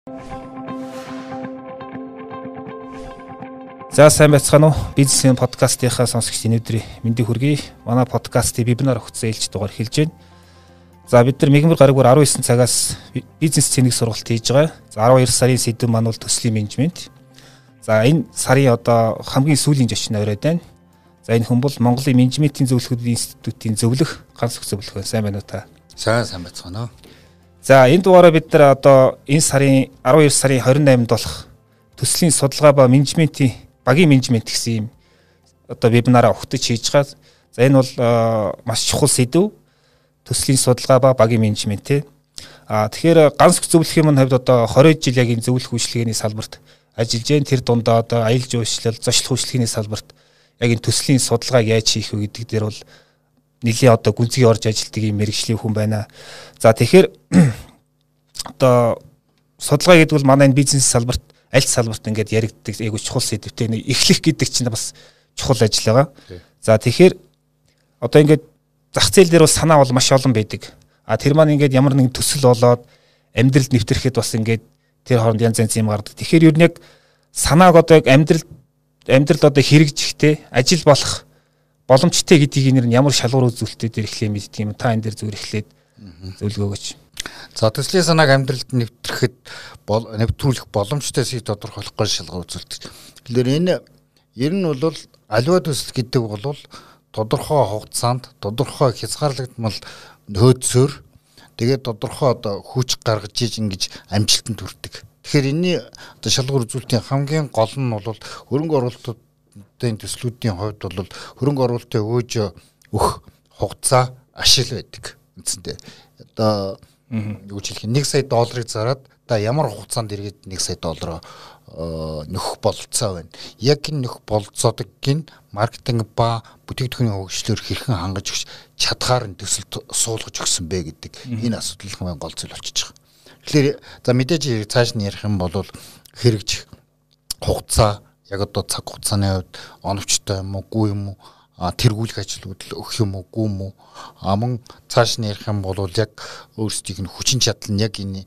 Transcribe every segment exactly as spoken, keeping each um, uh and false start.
За сайн байцгаана уу? Бизнесийн подкастынхаа сонсогчдын өдрийн мэндийг хүргэе. Манай подкастыг вебинар өгсөн ээлж дугаар хэлж байна. За бид нар мегмар гарагвар арван есөн цагаас бизнес цэник сургалт хийж байгаа. За арван хоёр сарын сэдв маань бол төслийн менежмент. За энэ сарын одоо хамгийн сүүлийн зочин оройд байна. За энэ хүн бол Монголын менежментийн зөвлөхөдийн институтын зөвлөх ганц их зөвлөх байна. Сайн байна уу та? Сайн сайн байцгаана уу. За энэ дугаараа бид нар одоо энэ сарын арван хоёр сарын хорин найманд болох төслийн судалгаа ба менежментийн багийн менежмент гэсэн юм одоо вебинараа өгтөж хийж байгаа. За энэ бол маш чухал сэдв. Төслийн судалгаа ба багийн менежмент те. А тэгэхээр ганц зөвлөхийн хувьд одоо двадцать жил яг энэ зөвлөх үйлчлэгээний салбарт ажиллаж байна. Тэр дундаа одоо аялал жуулчлал, зочлох үйлчлэгээний салбарт яг энэ төслийн судалгааг яаж хийх вэ гэдэг дээр бол нэлийн одоо гүнзгий орж ажилладаг юм мэргэжлийн хүн байна. За тэгэхээр одоо судалгаа гэдэг бол манай энэ бизнес салбарт аль салбарт ингээд яригддаг айгуу чухал сэдвтэй эхлэх гэдэг чинь бас чухал ажил байгаа. За тэгэхээр одоо ингээд зах зээл дээр бол санаа бол маш олон байдаг. А тэр маань ингээд ямар нэгэн төсөл болоод амьдралд нэвтрэхэд бас ингээд тэр хооронд янз янз юм гардаг. Тэгэхээр юу нэг санааг одоо яг амьдрал амьдрал одоо хэрэгжихтэй ажил болох боломжтой гэдгийг нэр нь ямар шалгуур үзүүлэлтээр дээр эхлэе мэддэг юм. Та энэ дээр зүгээр эхлээд зөвлөгөө өгөөч. За төслийн санааг амьдралд нэвтрэхэд нэвтрүүлэх боломжтой сэдв тодорхойлох гол шалгуур үзүүлэлт. Тэгэхээр энэ ер нь бол аливаа төсөл гэдэг бол тодорхой хугацаанд тодорхой хязгаарлагдмал нөөцөөр тэгээд тодорхой одоо хүч гаргаж иж ингэж амжилтанд хүрдэг. Тэгэхээр энэний одоо шалгуур үзүүлэлтийн хамгийн гол нь бол хөрөнгө оруулалтын төслүүдийн хувьд бол хөрөнгө оруулалтын өгөөж өгөх хугацаа ашиг байдаг. Үндсэндээ одоо юу ч хэлэх нэг сая долларыг зараад та ямар хугацаанд иргэд нэг сая доллароо нөхөх бололцоо байна. Яг энэ нөх бололцоодыг гин маркетинг ба бүтээгдэхүүний хөгжлөөр хэрхэн хангаж өгч чадхаар нь төсөлд суулгаж өгсөн бэ гэдэг энэ асуудал хамгийн гол зүйл болчихж байгаа. Тэгэхээр за мэдээж цааш нь ярих юм бол хэрэгжих хугацаа яг одоо цаг хугацааны хувьд оновчтой юм уу, гүй юм уу, тэргүүлэх ажлууд л өгөх юм уу, гүй юм уу, а мөн цааш нь ярих юм бол яг өөрсдийнх нь хүчин чадал нь яг энэ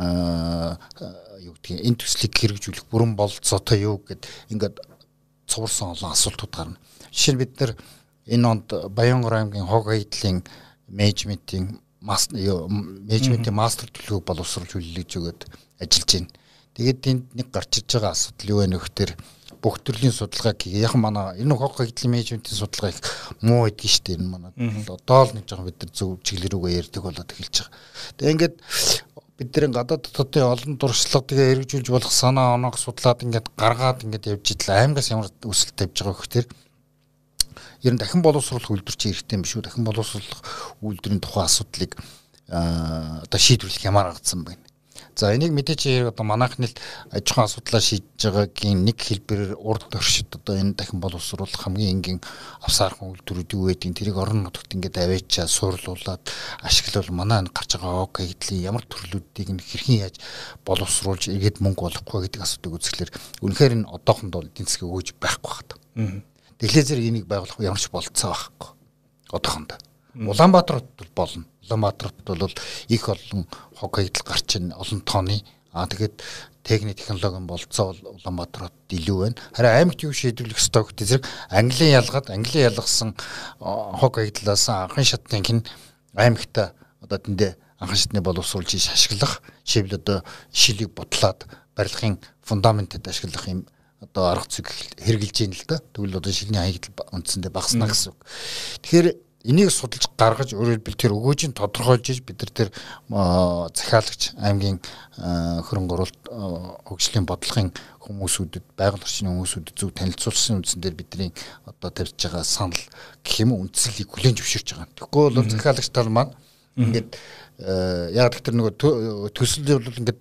юу гэдгийг энэ төслийг хэрэгжүүлэх бүрэн бололцоотой юу гэд ингээд цуурсан олон асуултууд гарна. Жишээ нь бид нар энэ онд Баянгор аймгийн хог хайдлын менежментийн менежментийн мастер төлөвийг боловсруулж хүлээж өгöd ажиллаж байна. Тэгээд энд нэг гарч иж байгаа асуудал юу вэ нөхдөр бүх төрлийн судалгааг яг манай энэ хог хайдлын менежментийн судалгаа их муу байдаг шүү дээ. Энэ манай одоо л нэг жоохон бид нар зөв чиглэл рүүгээ ярьдаг болоод эхэлж байгаа. Тэгээд ингээд бидний гадаад дотоодын олон дуршлагыг хэрэгжүүлж болох санаа оноог судлаад ингээд гаргаад ингээд явж идэл аймагаас ямар өсөлт тавьж байгаа гэхээр ер нь дахин боловсруулах үйлдвэр чи хэрэгтэй юм биш үү? Дахин боловсруулах үйлдвэрийн тухай асуудлыг одоо шийдвэрлэх ямар гацсан байна. За энийг мэдээж одоо манайхны л аж ахуйн асуудлаа шийдэж байгаагийн нэг хэлбэрээр урд оршид одоо энэ дахин боловсруулах хамгийн энгийн авсаархан үйлдвэрүүд юу гэдэг тэрийг орон нутагт ингээд аваачаа суурлуулад ашиглавал манай энэ гарч байгаа ог хэдлийн ямар төрлүүдийг нь хэрхэн яаж боловсруулж иргэд мөнгө олохгүй гэдэг асуудыг үзэхлээр үнэхээр энэ одоохонд бол эдийн засгийг өгөөж байхгүй байна. Тэглээ зэрэг энийг байгуулах ямар ч болцоо байхгүй. Одоохонд. Улаанбаатарт бол болно. Улаанбаатарт бол их олон хог хайдал гарч ин олон тооны аа тэгээд техник технологийн болцоо бол Улаанбаатарт илүү байна. Харин аймагт юу шийдвэрлэх ёстой гэдэг зэрэг Английн ялгаад Английн ялгасан хог хайдлаас анхан шатны хин аймагт одоо тэндээ анхан шатны боловсруулж ашиглах шивл одоо шилийг бодлоод барилгын фундаментэд ашиглах юм одоо арга зүйг хэрэгжилж байна л да. Тэгвэл одоо шилний хаягдл үндсэндээ багаснаа гэсэн үг. Тэгэхээр энийг судалж гаргаж өөрөөр хэлбэл тэр өгөөжийг тодорхойлж иж бид нар тэр захиалагч аймгийн хөрөнгө оруулалт хөгжлийн бодлогын хүмүүсүүдэд байгаль орчны хүмүүсүүдэд зөв танилцуулсан үндсээр бидний одоо тавьж байгаа санал гэх юм уу үндслийг хүлээн зөвшөөрч байгаа. Тэгэхгүй бол захиалагч тал маань ингээд яг тэр нөгөө төсөл бол ингээд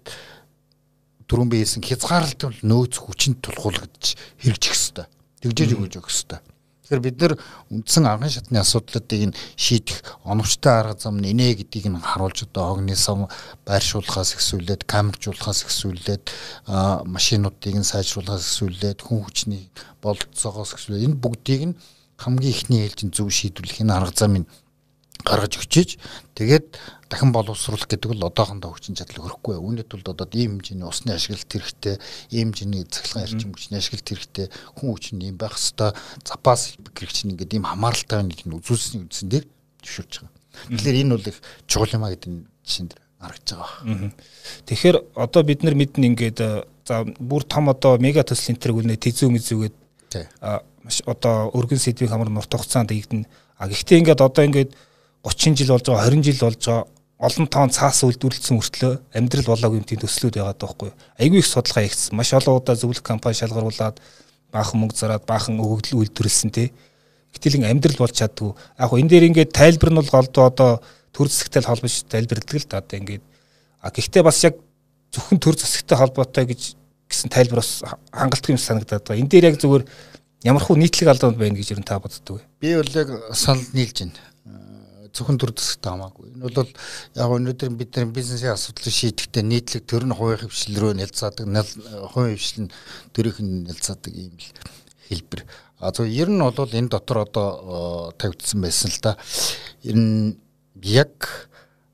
түрүүн биесэн хязгаарлалт нөөц хүчинд тулгуурлагдж хэрэгжих ёстой. Тэгжээж өгөөж өгөх ёстой. Тэгэхээр бид нар үндсэн анхан шатны асуудлуудыг нь шийдэх оновчтой арга зам нь инэ гэдгийг нь харуулж одоо огны сав байршуулахаас эхсүүлээд камержуулахаас эхсүүлээд машинуудыг нь сайжруулахаас эхсүүлээд хүн хүчний бололцоогоос эхсүүлээд энэ бүгдийг нь хамгийн ихний ээлжинд зөв шийдвэрлэх энэ арга замыг гаргаж өгчиж тэгээд дахин боловсруулах гэдэг бол одоохондоо хүчин чадал өрөхгүй. Үүнийд тулд одоо ийм хэмжээний усны ашиглалт хэрэгтэй, ийм хэмжээний цахилгаан эрчим хүчний ашиглалт хэрэгтэй, хүн хүчин ийм байх хэвээр запас хэрэгч нь ингээд ийм хамааралтай нэг нь үзүүлсний үндсэн дээр зөвшөөрч байгаа. Тэгэхээр энэ бол их чухал юм а гэдэг жишээн дээр харагдаж байгаа. Тэгэхээр одоо бид нар мэднэ ингээд за бүр том одоо мега төслийн тэр үлнэ тэзүү мэзүүгээд маш одоо өргөн сэдвийг хамар нурт хугацаанд ийгдэн. А гэхдээ ингээд одоо ингээд гучин жил болж байгаа, хорин жил болж байгаа олон тоон цаас үйлдвэрлэсэн хүртлөө амьдрал болоогүй юм тийм төслүүд байгаа даахгүй. Айгүй их судалгаа хийгдсэн. Маш олон удаа зөвлөх компани шалгаруулад баахан мөнгө зараад баахан өгөгдөл үйлдвэрлэсэн тий. Гэтэл амьдрал болж чаддгүй. Яг хөө энэ дээр ингээд тайлбар нь бол голдоо одоо төр засагтай холбож тайлбарладаг л да одоо ингээд. А гэхдээ бас яг зөвхөн төр засагтай холбоотой гэж гэсэн тайлбар бас хангалттай юм санагдаад байгаа. Энэ дээр яг зүгээр ямархуу нийтлэг алдаад байна гэж ер нь та боддог вэ? Би бол яг санал нийлж байна. Зөвхөн төр засагтай хамаагүй. Энэ бол яг өнөөдөр бид нар бизнесийн асуудлыг шийдэхдээ нийтлэг төр нь хувийн хвшил рүү нэлцаадаг, хувийн хвшил нь төрийн нэлцаадаг юм л хэлбэр. А зөв ер нь бол энэ дотор одоо тавигдсан байсан л да. Энэ яг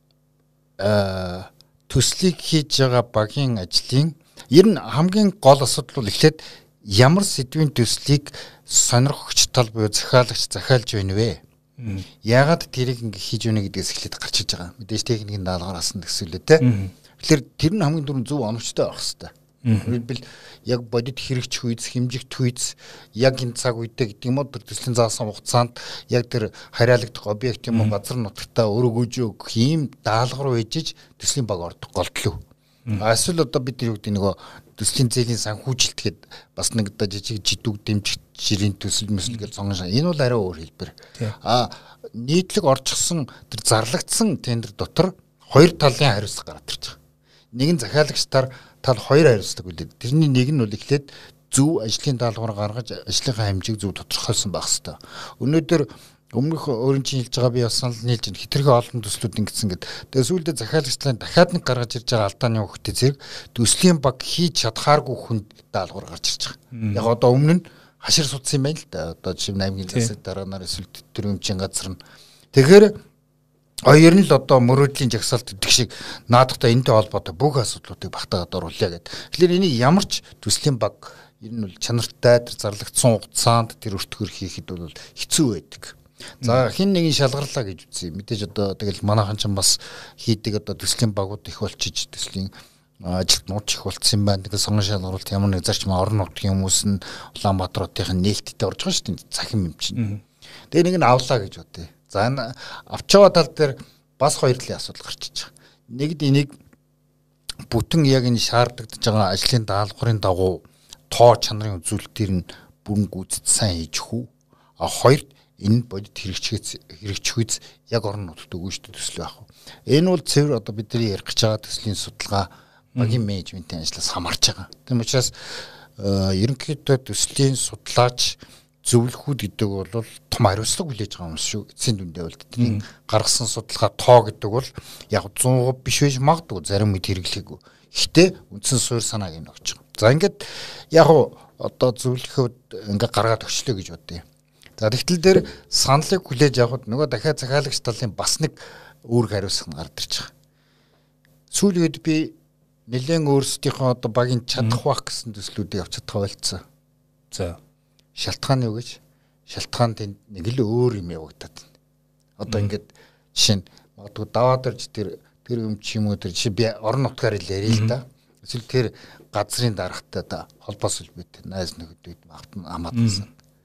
төслийг хийж байгаа багийн ажлын ер нь хамгийн гол асуудал бол эхлээд ямар сэдвийн төслийг сонирхогч тал буюу захиалагч захиалж байна вэ? Яагаад тэрийг ингэ хийж өгнө гэдгээс эхлээд гарч иж байгаа. Мэдээж техникийн даалгавраас нь гэсүүлээ те. Тэгэхээр тэр нь хамгийн түрүүнд зөв оновчтой байх хэрэгтэй. Өөрөлдвөл яг бодит хэрэгч хүйц, хэмжигт хүйц, яг энэ цаг үедээ гэдэг юм уу тэр төслийн заасан хугацаанд яг тэр хариалагдах объект юм уу газар нутагтаа өргөж өгөх ийм даалгавар үйжиж төслийн баг ордог голдлоо. Эсвэл одоо бид юу гэдэг нөгөө төслийн зээлийн санхүүжилт гээд бас нэг одоо жижиг жидүүг дэмжих жирийн төсөл мэсэл гэж сонгоно. Энэ бол арай өөр хэлбэр. А нийтлэг орчихсон тэр зарлагдсан тендер дотор хоёр талын хариуцлага гараад ирж байгаа. Нэг нь захиалагчдаар тал хоёр хариуцдаг үлээ. Тэрний нэг нь бол эхлээд зөв ажлын даалгавар гаргаж ажлынхаа хэмжээг зөв тодорхойлсон байх хэрэгтэй. Өнөөдөр өмнөх өөрийн чинь хэлж байгаа би бас санал нийлж байна. Хитрхи олон төслүүд ингэсэн гэдэг. Тэгээ сүүлдээ захиалагчдын дахиад нэг гаргаж ирж байгаа алдааны хөвгтэй зэрэг төслийн баг хийж чадхааргүй хүнд даалгавар гарч ирж байгаа. Яг одоо өмнө нь хашир судсан юм байна л да. Одоо жишээ нь аймгийн засаг дараа нар эсвэл төрөмчийн газар нь. Тэгэхээр хоёр нь л одоо мөрөөдлийн жагсаалт гэдэг шиг наадахтай энэтэй холбоотой бүх асуудлуудыг багтаагаад оруулъя гэдэг. Тэгэхээр энийг ямар ч төслийн баг ер нь бол чанартай тэр зарлагдсан хугацаанд тэр өртгөр хийхэд бол хэцүү байдаг. За хин нэгэн шалгарлаа гэж үзье. Мэдээж одоо тэгэл манайхан ч бас хийдэг одоо төслийн багууд их болчиж төслийн ажилт нууц их болцсон юм байна. Тэгээ сонгон шалгаруулалт ямар нэг зарчим орон нутгийн хүмүүс нь Улаанбаатарын нээлттэй орж байгаа шүү дээ. Цахим юм чинь. Тэгээ нэг нь авлаа гэж бодъё. За энэ авчгаа тал дээр бас хоёр талын асуудал гарч иж байгаа. Нэгд энийг бүтэн яг энэ шаардлагадж байгаа ажлын даалгаврын дагуу тоо чанарын үзүүлэлтээр нь бүрэн гүйцэд сайн хийж хүү. А хоёрд энэ бодит хэрэгчгээс хэрэгчхүйц яг орон нутагт өгнө шүү дээ төсөл байх. Энэ бол цэвэр одоо бидний ярих гэж байгаа төслийн судалгаа багийн менежментийн ажлаас хамаарч байгаа. Тийм учраас ерөнхийдөө төслийн судлаач зөвлөхүүд гэдэг бол том хариуцлага хүлээж байгаа юм шүү. Эцсийн дүндээ бол тэдний гаргасан судалгаа тоо гэдэг бол яг цуун процент биш байж магадгүй зарим үед хэрэглэхгүй. Гэхдээ үндсэн суурь санааг нь өгч байгаа. За ингээд яг одоо зөвлөхөд ингээд гаргаад өгчлөө гэж бодъё. За тэгтэл дээр саналыг хүлээж авахд нөгөө дахиад захиалагч талын бас нэг үүрэг хариуцлага гарч ирж байгаа. Сүүлийн үед би нэлээд өөрсдийнхөө одоо багийн чадах бах гэсэн төслүүдийг авч чадхаа болцсон. За шалтгаан юу гэж? Шалтгаан тэнд нэг л өөр юм явагдаад байна. Одоо ингээд жишээ нь магадгүй даваад ирж тэр тэр юм чи юм уу тэр жишээ би орон нутгаар л ярил л да. Эсвэл тэр газрын дарагтай да холбоос үлбэт найз нөхөдөд хамаатсан.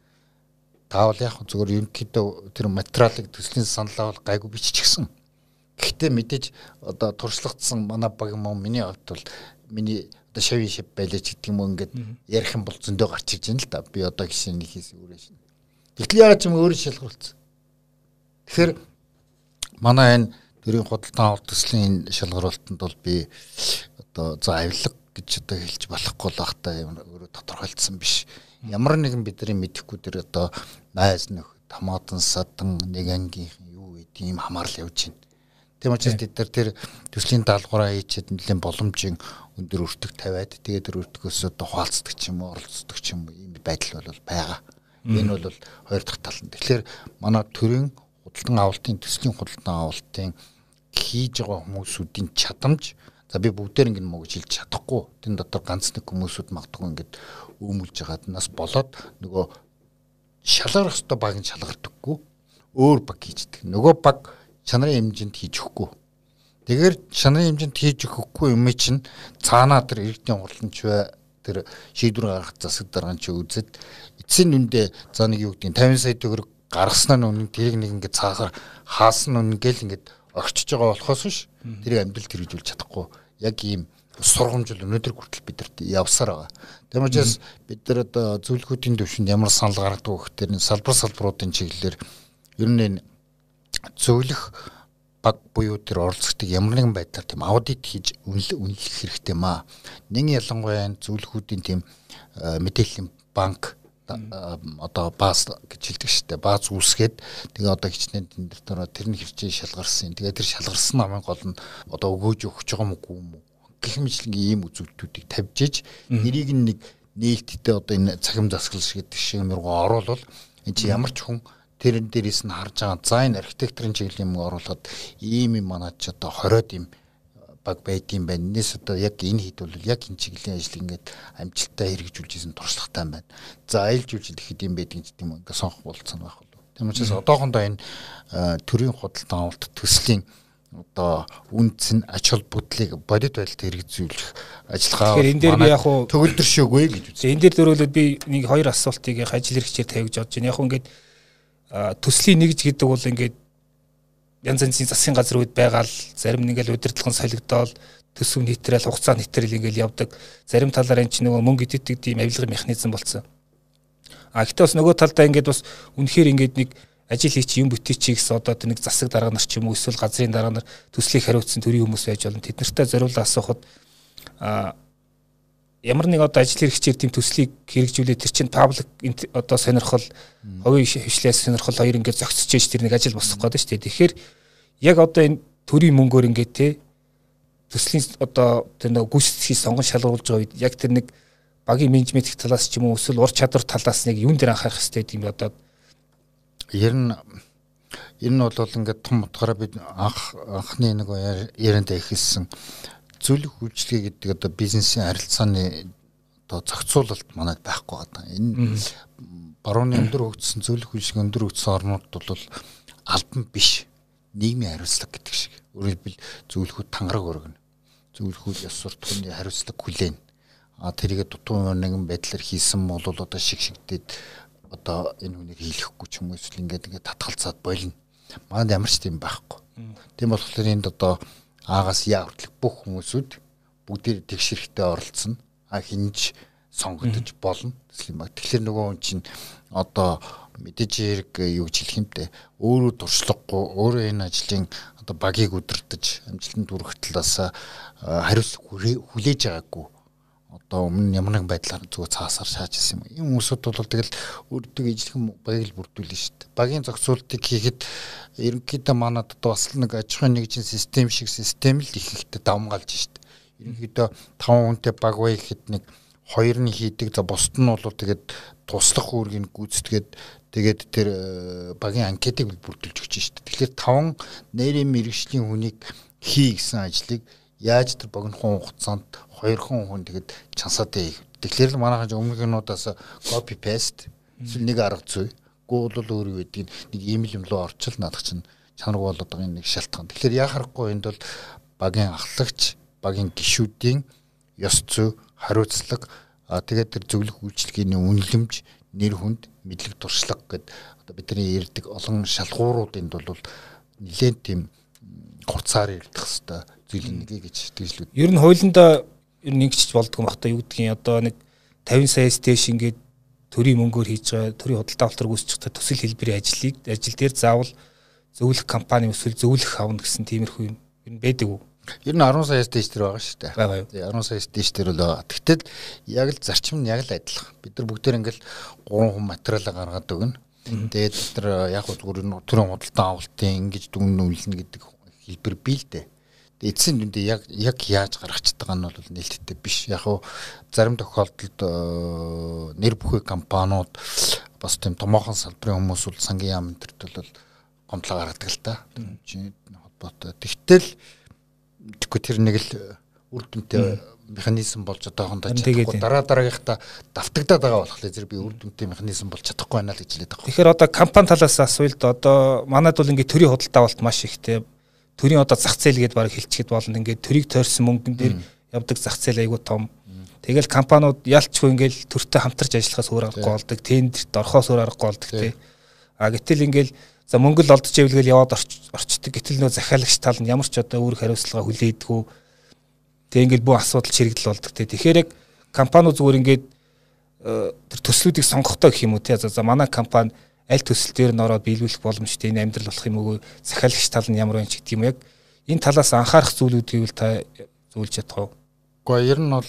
Таавал яг зөвхөн ерөнхийдөө тэр материалыг төслийн саналаа бол гайгүй биччихсэн. Гэхдээ мэдээж одоо туршлагатсан манай баг юм уу миний хувьд бол миний одоо шавийн шив байлаач гэдэг юм уу ингээд ярих юм бол зөндөө гарч иж байна л да. Би одоо гişэн нэг хийс өөрөө шин. Тэгтэл яагаад ч юм өөрөө шалгаруулсан. Тэгэхээр манай энэ төрийн худалдан авалт төслийн шалгаруулалтанд бол би одоо за авилга гэж одоо хэлж болохгүй л ахтай өөрөө тодорхойлцсон биш. Ямар нэгэн бидний мэдэхгүй тэр одоо найз нөхөд хамаатан садан нэг ангийнхан юу гэдэг юм хамаарл явж байна. Тийм учраас бид нар тэр төслийн даалгавраа хийчихэд нэлээд боломжийн өндөр өртөг тавиад тэгээд тэр өртгөөс одоо хуалцдаг ч юм уу оролцдог ч юм уу ийм байдал бол байгаа. Энэ бол хоёр дахь тал нь. Тэгэхээр манай төрийн худалдан авалтын төслийн худалдан авалтын хийж байгаа хүмүүсүүдийн чадамж за би бүгдээр ингэ мөгж хэлж чадахгүй. Тэн дотор ганц нэг хүмүүсүүд магадгүй ингээд өмүүлж байгаад нас болоод нөгөө шалгарах ёстой баг нь шалгардаггүй. Өөр баг хийждэг. Нөгөө баг чанарын хэмжээнд хийж өгөхгүй. Тэгэхээр чанарын хэмжээнд хийж өгөхгүй юм чинь цаанаа тэр иргэдийн хурланч бай тэр шийдвэр гаргах засаг даргач үзэд эцсийн нүндээ за нэг юу гэдэг тавин сая төгрөг гаргаснаа нүн тэрийг нэг ингээд цаахаар хаасан нүн гэл ингээд орчиж байгаа болохоос биш тэрийг амьдралд хэрэгжүүлж чадахгүй яг ийм сургамжил өнөөдөр хүртэл бидэрт явсаар байгаа. Тийм учраас бид нар одоо зөвлөхүүдийн төвшөнд ямар санал гаргадаг вэ гэхээр салбар салбаруудын чиглэлээр ер нь зөвлөх баг буюу тэр оролцогчдыг ямар нэгэн байдлаар тийм аудит хийж үнэлэх хэрэгтэй маа. Нэг ялангуяа зөвлөхүүдийн тийм мэдээллийн банк одоо бааз гэж хэлдэг шүү дээ. Бааз үүсгээд тэгээ одоо хичнээн тэн дээр тэр нь хэрчээ шалгарсан. Тэгээ тэр шалгарсан намын гол нь одоо өгөөж өгч байгаа мөгүй юм уу? Гэх мэтлэн ийм үзүүлэлтүүдийг тавьж иж нэрийг нэг нээлттэй одоо энэ цахим засаглал шиг гэдэг шиг мөргөө оруулал энэ чи ямар ч хүн тэрэн дээрээс нь харж байгаа за энэ архитектурын чиглэлийн юм оруулаад ийм юм манад ч одоо хориод юм баг байдсан байна. Нийс одоо яг энэ хэд бол яг энэ чиглэлийн ажил ингээд амжилттай хэрэгжүүлж исэн туршлагатай байна. За айлжуулж ихэд юм байдгийг гэдэг юм ингээд сонгох болцсон байх болов. Тийм учраас одоохондоо энэ төрийн худалдан авалт төслийн одоо үнц нь ач холбогдлыг бодит байдалд хэрэгжүүлэх ажиллагаа. Тэгэхээр энэ дээр би яг уу төгөлдршөөгүй гэж үзье. Энэ дээр дөрөвлөд би нэг хоёр асуултыг ажил хэрэгчээр тавьж бодож байна. Яг уу ингээд төслийн нэгж гэдэг бол ингээд янз янзын засгийн газар үед байгаа л зарим нэг л удирдлагын солигдоод төсөв нийтрэл хугацаа нийтрэл ингээл явдаг. Зарим талаар энэ чинь нөгөө мөнгө идэвхтэй тийм авилгын механизм болсон. А гэхдээ бас нөгөө талдаа ингээд бас үнэхээр ингээд нэг ажил хийч юм бүтээч гэсэн одоо тэр нэг засаг дарга нар ч юм уу эсвэл газрын дарга нар төслийг хариуцсан төрийн хүмүүс байж болно. Тэд нартай зориулаад асуухад а ямар нэг одоо ажил хэрэгчээр тийм төслийг хэрэгжүүлээд тэр чинь паблик одоо сонирхол хувийн хвшлээс сонирхол хоёр ингээд зохицож ээж тэр нэг ажил босох гээд шүү дээ. Тэгэхээр яг одоо энэ төрийн мөнгөөр ингээд те төслийн одоо тэр нэг гүйцэтгэлийг сонгон шалгуулж байгаа үед яг тэр нэг багийн менежмент талаас ч юм уу эсвэл ур чадвар талаас нэг юун дээр анхаарах хэрэгтэй юм одоо ер нь ер нь бол ингээд том утгаараа бид анх анхны нэг ярианд ихэлсэн зөвлөх үйлчлэгээ гэдэг одоо бизнесийн харилцааны одоо зохицуулалт манайд байхгүй байгаа. Энэ барууны өндөр хөгжсөн зөвлөх үйлчлэгээ өндөр хөгжсөн орнууд бол албан биш нийгмийн хариуцлага гэдэг шиг. Өөрөөр хэлбэл зөвлөхүүд тангараг өргөнө. Зөвлөхүүд ёс суртахууны хариуцлага хүлээн. А тэрийгэ дутуу нэгэн байдлаар хийсэн бол одоо шиг шигдээд одоо энэ хүнийг хийлэхгүй ч юм уу эсвэл ингээд ингээд татгалцаад болно. Манайд ямар ч тийм байхгүй. Тийм болохоор энд одоо аагаас яа хүртэл бүх хүмүүсүүд бүгдээр тэгшэрхтээ оролцсон. А хинж сонгогдож болно. Тэгэхээр нөгөө хүн чинь одоо мэдээж хэрэг юу гэж хэлэх юмтэй өөрөө туршлагагүй өөрөө энэ ажлын одоо багийг удирдах амжилтанд хүрэх талаас хариуцлага хүлээж байгаагүй одоо өмнө ямар нэгэн байдлаар зүгээр цаасаар шааж ирсэн юм. Ийм хүмүүсүүд бол тэгэл өөртөө ижлэхэн багийг л бүрдүүлнэ шүү дээ. Багийн зохицуултыг хийхэд ерөнхийдөө манад одоо бас нэг аж ахуйн нэгжийн систем шиг систем л их ихтэй давмгаалж шүү дээ. Ерөнхийдөө таван хүнтэй баг бай гэхэд нэг хоёр нь хийдэг. За бусд нь бол тэгээд туслах үүргийг гүйцэтгээд тэгээд тэр багийн анкетыг бүрдүүлж өгч шүү дээ. Тэгэхээр таван нэрийн мэргэжлийн хүнийг хий гэсэн ажлыг яаж тэр богинохон хугацаанд хоёр хон хүн тэгээд чансаатай хийх. Тэгэхээр л манайхан өмнөгнүүдээс copy paste эсвэл нэг арга зүй. Гүү бол өөр юу гэдгийг нэг имэйл юм руу орчил наадах чинь чанарг болоод байгаа нэг шалтгаан. Тэгэхээр яа харахгүй энд бол багийн ахлагч, багийн гишүүдийн ёс зүй, хариуцлага тэгээд тэр зөвлөх үйлчлэгийн үнэлэмж, нэр хүнд, мэдлэг туршлага гэдэг одоо бидний ярьдаг олон шалгууруудынд бол нэлээд тийм хурцаар ярдах хэвээр зүйлийн нэг гэж тэгжлүүд. Ер нь хуулиндаа ер нь ингэч болдгоо бахта юу гэдгийг одоо нэг тавин сая стэйш ингээд төрийн мөнгөөр хийж байгаа төрийн худалдаа авалт үүсэж байгаа төсөл хэлбэрийн ажлыг ажил дээр заавал зөвлөх компани эсвэл зөвлөх авна гэсэн тиймэрхүү юм ер нь байдаг уу? Ер нь арван сая стэйш дээр байгаа шүү дээ. Байгаа юу? Тэгээ арван сая стэйш дээр бол байгаа. Тэгтэл яг л зарчим нь яг л адилхан. Бид нар бүгдээр ингээл гурван хүн материалаа гаргаад өгнө. Тэгээд бид нар яг зүгээр төрийн худалдаа авалтын ингэж дүн үнэлнэ гэдэг хэлбэр бий л дээ. Эцсийн дүндээ яг яг яаж гаргачихдаг байгаа нь бол нээлттэй биш. Яг уу зарим тохиолдолд нэр бүхий компаниуд бас тийм томоохон салбарын хүмүүс бол сангийн яам энтерт бол гомдлоо гаргадаг л та. Чиний холбоотой. Тэгтэл тэгэхгүй тэр нэг л үр дүнтэй механизм болж одоохондоо чадахгүй дараа дараагийнхаа давтагдаад байгаа болохоор зэрэг би үр дүнтэй механизм болж чадахгүй байна л гэж хэлээд байгаа. Тэгэхээр одоо компани талаас асуулт одоо манайд бол ингээд төрийн худалдаа авалт маш ихтэй. Төрийн одоо зах зээл гэдээ баг хэлчихэд болно. Ингээд төрийг тойрсон мөнгөн дээр явдаг зах зээл айгүй том. Тэгэл компаниуд ялчгүй ингээд төртөө хамтарч ажиллахаас өөр аргагүй болдог. Тендерт орохоос өөр аргагүй болдог тий. А гэтэл ингээд за мөнгө л олдож ивэл яваад орчдөг. Гэтэл нөө захиалагч тал нь ямар ч одоо үүрэг хариуцлага хүлээдэггүй. Тэг ингээд бүх асуудал чирэгдэл болдог тий. Тэгэхээр яг компаниуд зүгээр ингээд тэр төслүүдийг сонгохдоо гэх юм уу тий. За манай компани аль төсөл дээр н ороод биелүүлэх боломжтой энэ амьдрал болох юм уу? Захиалагч тал нь ямар байна ч гэдэг юм яг энэ талаас анхаарах зүйлүүдийг л та зөвлөж чадах уу? Гэхдээ ер нь бол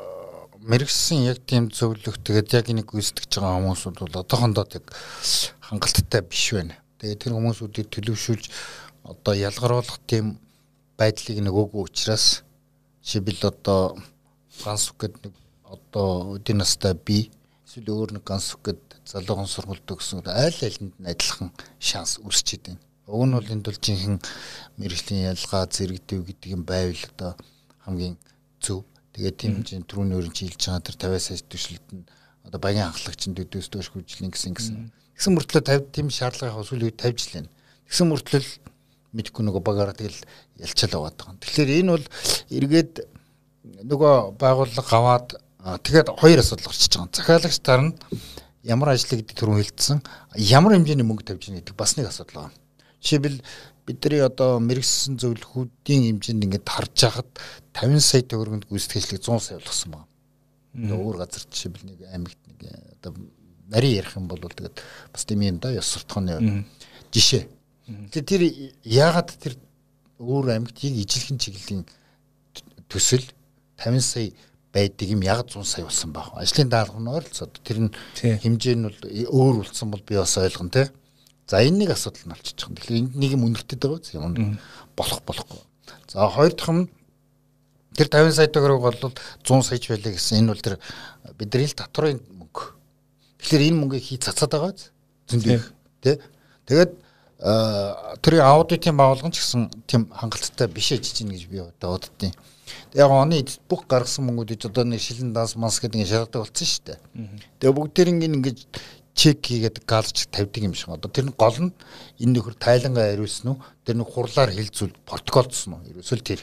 мэрэгсэн яг тийм зөвлөх тэгээд яг энийг гүйцэтгэж байгаа хүмүүсүүд бол одоохондоо тэг хангалттай биш байна. Тэгээд тэр хүмүүсүүдийг төлөвшүүлж одоо ялгаруулах тийм байдлыг нөгөөгүй учраас жишээлбэл одоо ганс үг гэдэг нэг одоо үдийн настай би эсвэл өөр нэг ганс үг гэдэг залуухан сургуульд өгсөн айл айлнд нь адилхан шанс үүсчихэд байна. Уг нь бол энд бол жинхэнэ мэрэгжлийн ялгаа зэрэгдэв гэдэг юм байвал одоо хамгийн зөв. Тэгээд тийм чинь түрүүний өрн чийлж байгаа тэр тавиас сая төшлөлт нь одоо багийн анхлагчд төдөөс доош хөгжлийн гэсэн гэсэн. Тэгсэн мөртлөө тавь тийм шаардлагын хос үл тавьж лээ. Тэгсэн мөртлөө мэдхгүй нөгөө багаараа тэгэл ялчаал аваад байгаа. Тэгэхээр энэ бол эргээд нөгөө байгууллага аваад тэгээд хоёр асуудал гарчиж байгаа. Захиалагч тар нь ямар ажил гэдэг түрүүн хэлсэн, ямар хэмжээний мөнгө тавьж байгаа гэдэг бас нэг асуудал байна. Жишээлбэл бидний одоо мэрэгсэн зөвлөхүүдийн хэмжээнд ингээд харж хахад тавин сая төгрөгөнд гүйцэтгэлийг зуун сая болгосон байна. Өөр газар жишээлбэл нэг аймагт нэг одоо нарийн ярих юм бол тэгээд бас тийм юм да ёс суртахууны жишээ. Тэгэхээр тэр яагаад тэр өөр аймагт яг ижилхэн чиглэлийн төсөл тавин сая байдаг юм яг зуун сая болсон баг. Ажлын даалгавар нь ойролцоод тэр нь хэмжээ нь бол өөр үлдсэн бол би бас ойлгоно те. За энэ нэг асуудал нь болчихж байгаа. Тэгэхээр энд нэг юм үнэртэд байгаа юм болох болохгүй. За хоёр дахь нь тэр тавин сая төгрөг бол зуун саяч байлаа гэсэн. Энэ бол тэр бидний л татварын мөнгө. Тэгэхээр энэ мөнгийг хий цацаад байгаа зөндөө тий. Тэгээд тэр аудитын байгууллага ч гэсэн тийм хангалттай биш ажиж гин гэж би одоо боддیں۔ Яг оны бүх гаргасан мөнгүүдийг одоо нэг шилэн данс манс гэдэг ингэ шалгадаг болсон шүү дээ. Тэгээ бүгд тэр ингэ чек хийгээд галж тавьдаг юм шиг. Одоо тэр нь гол нь энэ нөхөр тайлангаа хариулсан уу? Тэр нэг хурлаар хэлцүүл протоколдсон уу? Ерөөсөө тэр.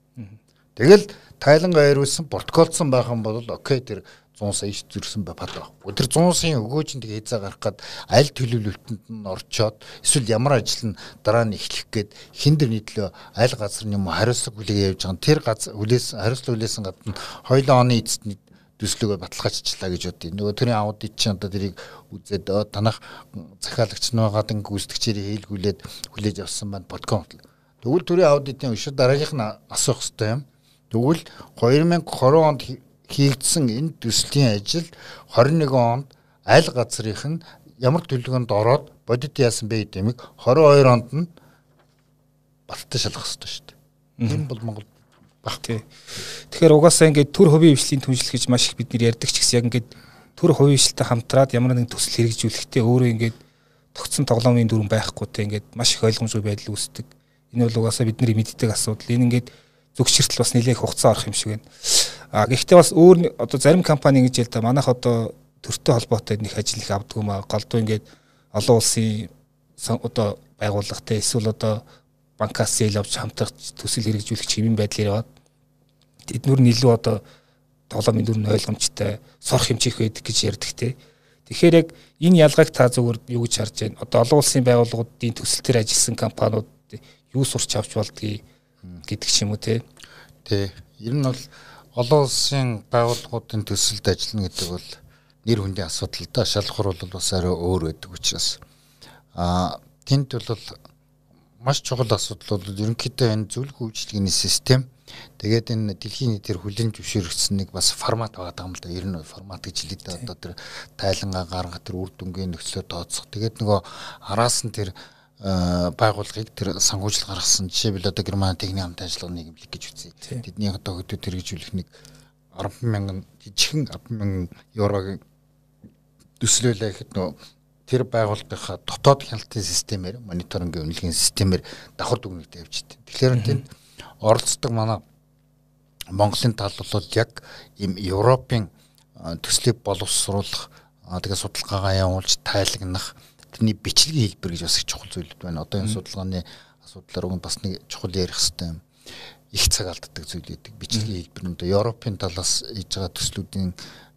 Тэгэл тайлангаа хариулсан, протоколдсон байх юм бол окей тэр зуун сая зүрсэн бай пад баг. Тэр зуун сая өгөөж нэг хязаа гарах гад аль төлөвлөлтөнд нь орчоод эсвэл ямар ажил нь дараа нь эхлэх гээд хин дэр нийтлээ аль газар юм хариуцлага хүлэгээ явж байгаа. Тэр газар хүлээс хариуцлага хүлээсэн гадна хоёулаа оны эцэст төслөгөө баталгаажчлаа гэж бодъё. Нөгөө тэрийн аудит чинь одоо тэрийг үзээд танах захиалагч нуугаад ингээ гүйцэтгэгчээр хийлгүүлээд хүлээж авсан байна подком. Тэгвэл тэрийн аудитын өшөө дараагийнх нь асуух хэрэгтэй юм. Тэгвэл две тысячи двадцать онд хийгдсэн энэ төслийн ажил двадцать одиннадцать онд аль газрынх нь ямар төлөвлөгөөнд ороод бодит яасан бэ гэдэг юм. двадцать two онд нь баттай шалгах хэрэгтэй шүү дээ. Энэ бол Монгол багтээ. Тэгэхээр угаасаа ингээд төр хувийн хвшлийн түншлэл гэж маш их бид нэр ярьдаг ч гэсэн яг ингээд төр хувийн хвшилтэй хамтраад ямар нэгэн төсөл хэрэгжүүлэхдээ өөрөө ингээд тогтсон тоглоомын дүрэн байхгүйтэй ингээд маш их ойлгомжгүй байдал үүсдэг. Энэ бол угаасаа бидний мэддэг асуудал. Энэ ингээд зөвшөөртөл бас нэлээх хугацаа орох юм шиг байна. А гэхдээ бас өөр одоо зарим компани ингэж ял та манайх одоо төртөө холбоотой нэг ажил их авдаг юм аа. Голдуу ингээд олон улсын одоо байгууллагатай эсвэл одоо банкас зээл авч хамтрах төсөл хэрэгжүүлэх чимийн байдлаар яваад эднүр нь илүү одоо тоглоомын дүр нь ойлгомжтой сорох хэмжих байдаг гэж ярьдаг те. Тэгэхээр яг энэ ялгааг та зөвөр юу гэж харж байна? Одоо олон улсын байгууллагуудын төсөл төр ажилласан компаниуд юу сурч авч болдгийг гэдэг ч юм уу те. Тэ. Ер нь бол олон улсын байгууллагуудын төсөлд ажиллана гэдэг бол нэр хүндийн асуудал да. Шалхуур бол бас арай өөр байдаг учраас а тэнд бол маш чухал асуудал бол ерөнхийдөө энэ зөвлөх үйлчилгээний систем тэгээд энэ дэлхийн нийтээр хүлээн зөвшөөрөгдсөн нэг бас формат байгаа юм л да. Ер нь формат гэж хэлээд одоо тэр тайлангаа гаргах тэр үр дүнгийн нөхцөлөө тооцох. Тэгээд нөгөө араас нь тэр байгууллагыг тэр санхүүжилт гаргасан жишээлбэл одоо Герман техникийн хамт ажиллагаа нийгэмлэг гэж үзье. Тэдний одоо хөдөө хэрэгжүүлэх нэг арван мянган жижигхэн арван мянган еврогийн төслөөлөө гэхэд нөгөө тэр байгууллагынхаа дотоод хяналтын системээр мониторингийн үнэлгээний системээр давхар дүгнэлт явьжтэй. Тэгэхээр тэнд оролцдог манай Монголын тал бол яг ийм Европын төслийг боловсруулах тэгээ судалгаагаа явуулж тайлагнах тэрний бичлэгийн хэлбэр гэж бас их чухал зүйлүүд байна. Одоо энэ судалгааны асуудлаар уг бас нэг чухал ярих хэрэгтэй юм. Их цаг алддаг зүйл үүдэг. Бичлэгийн хэлбэр нь одоо Европын талаас хийж байгаа төслүүдийн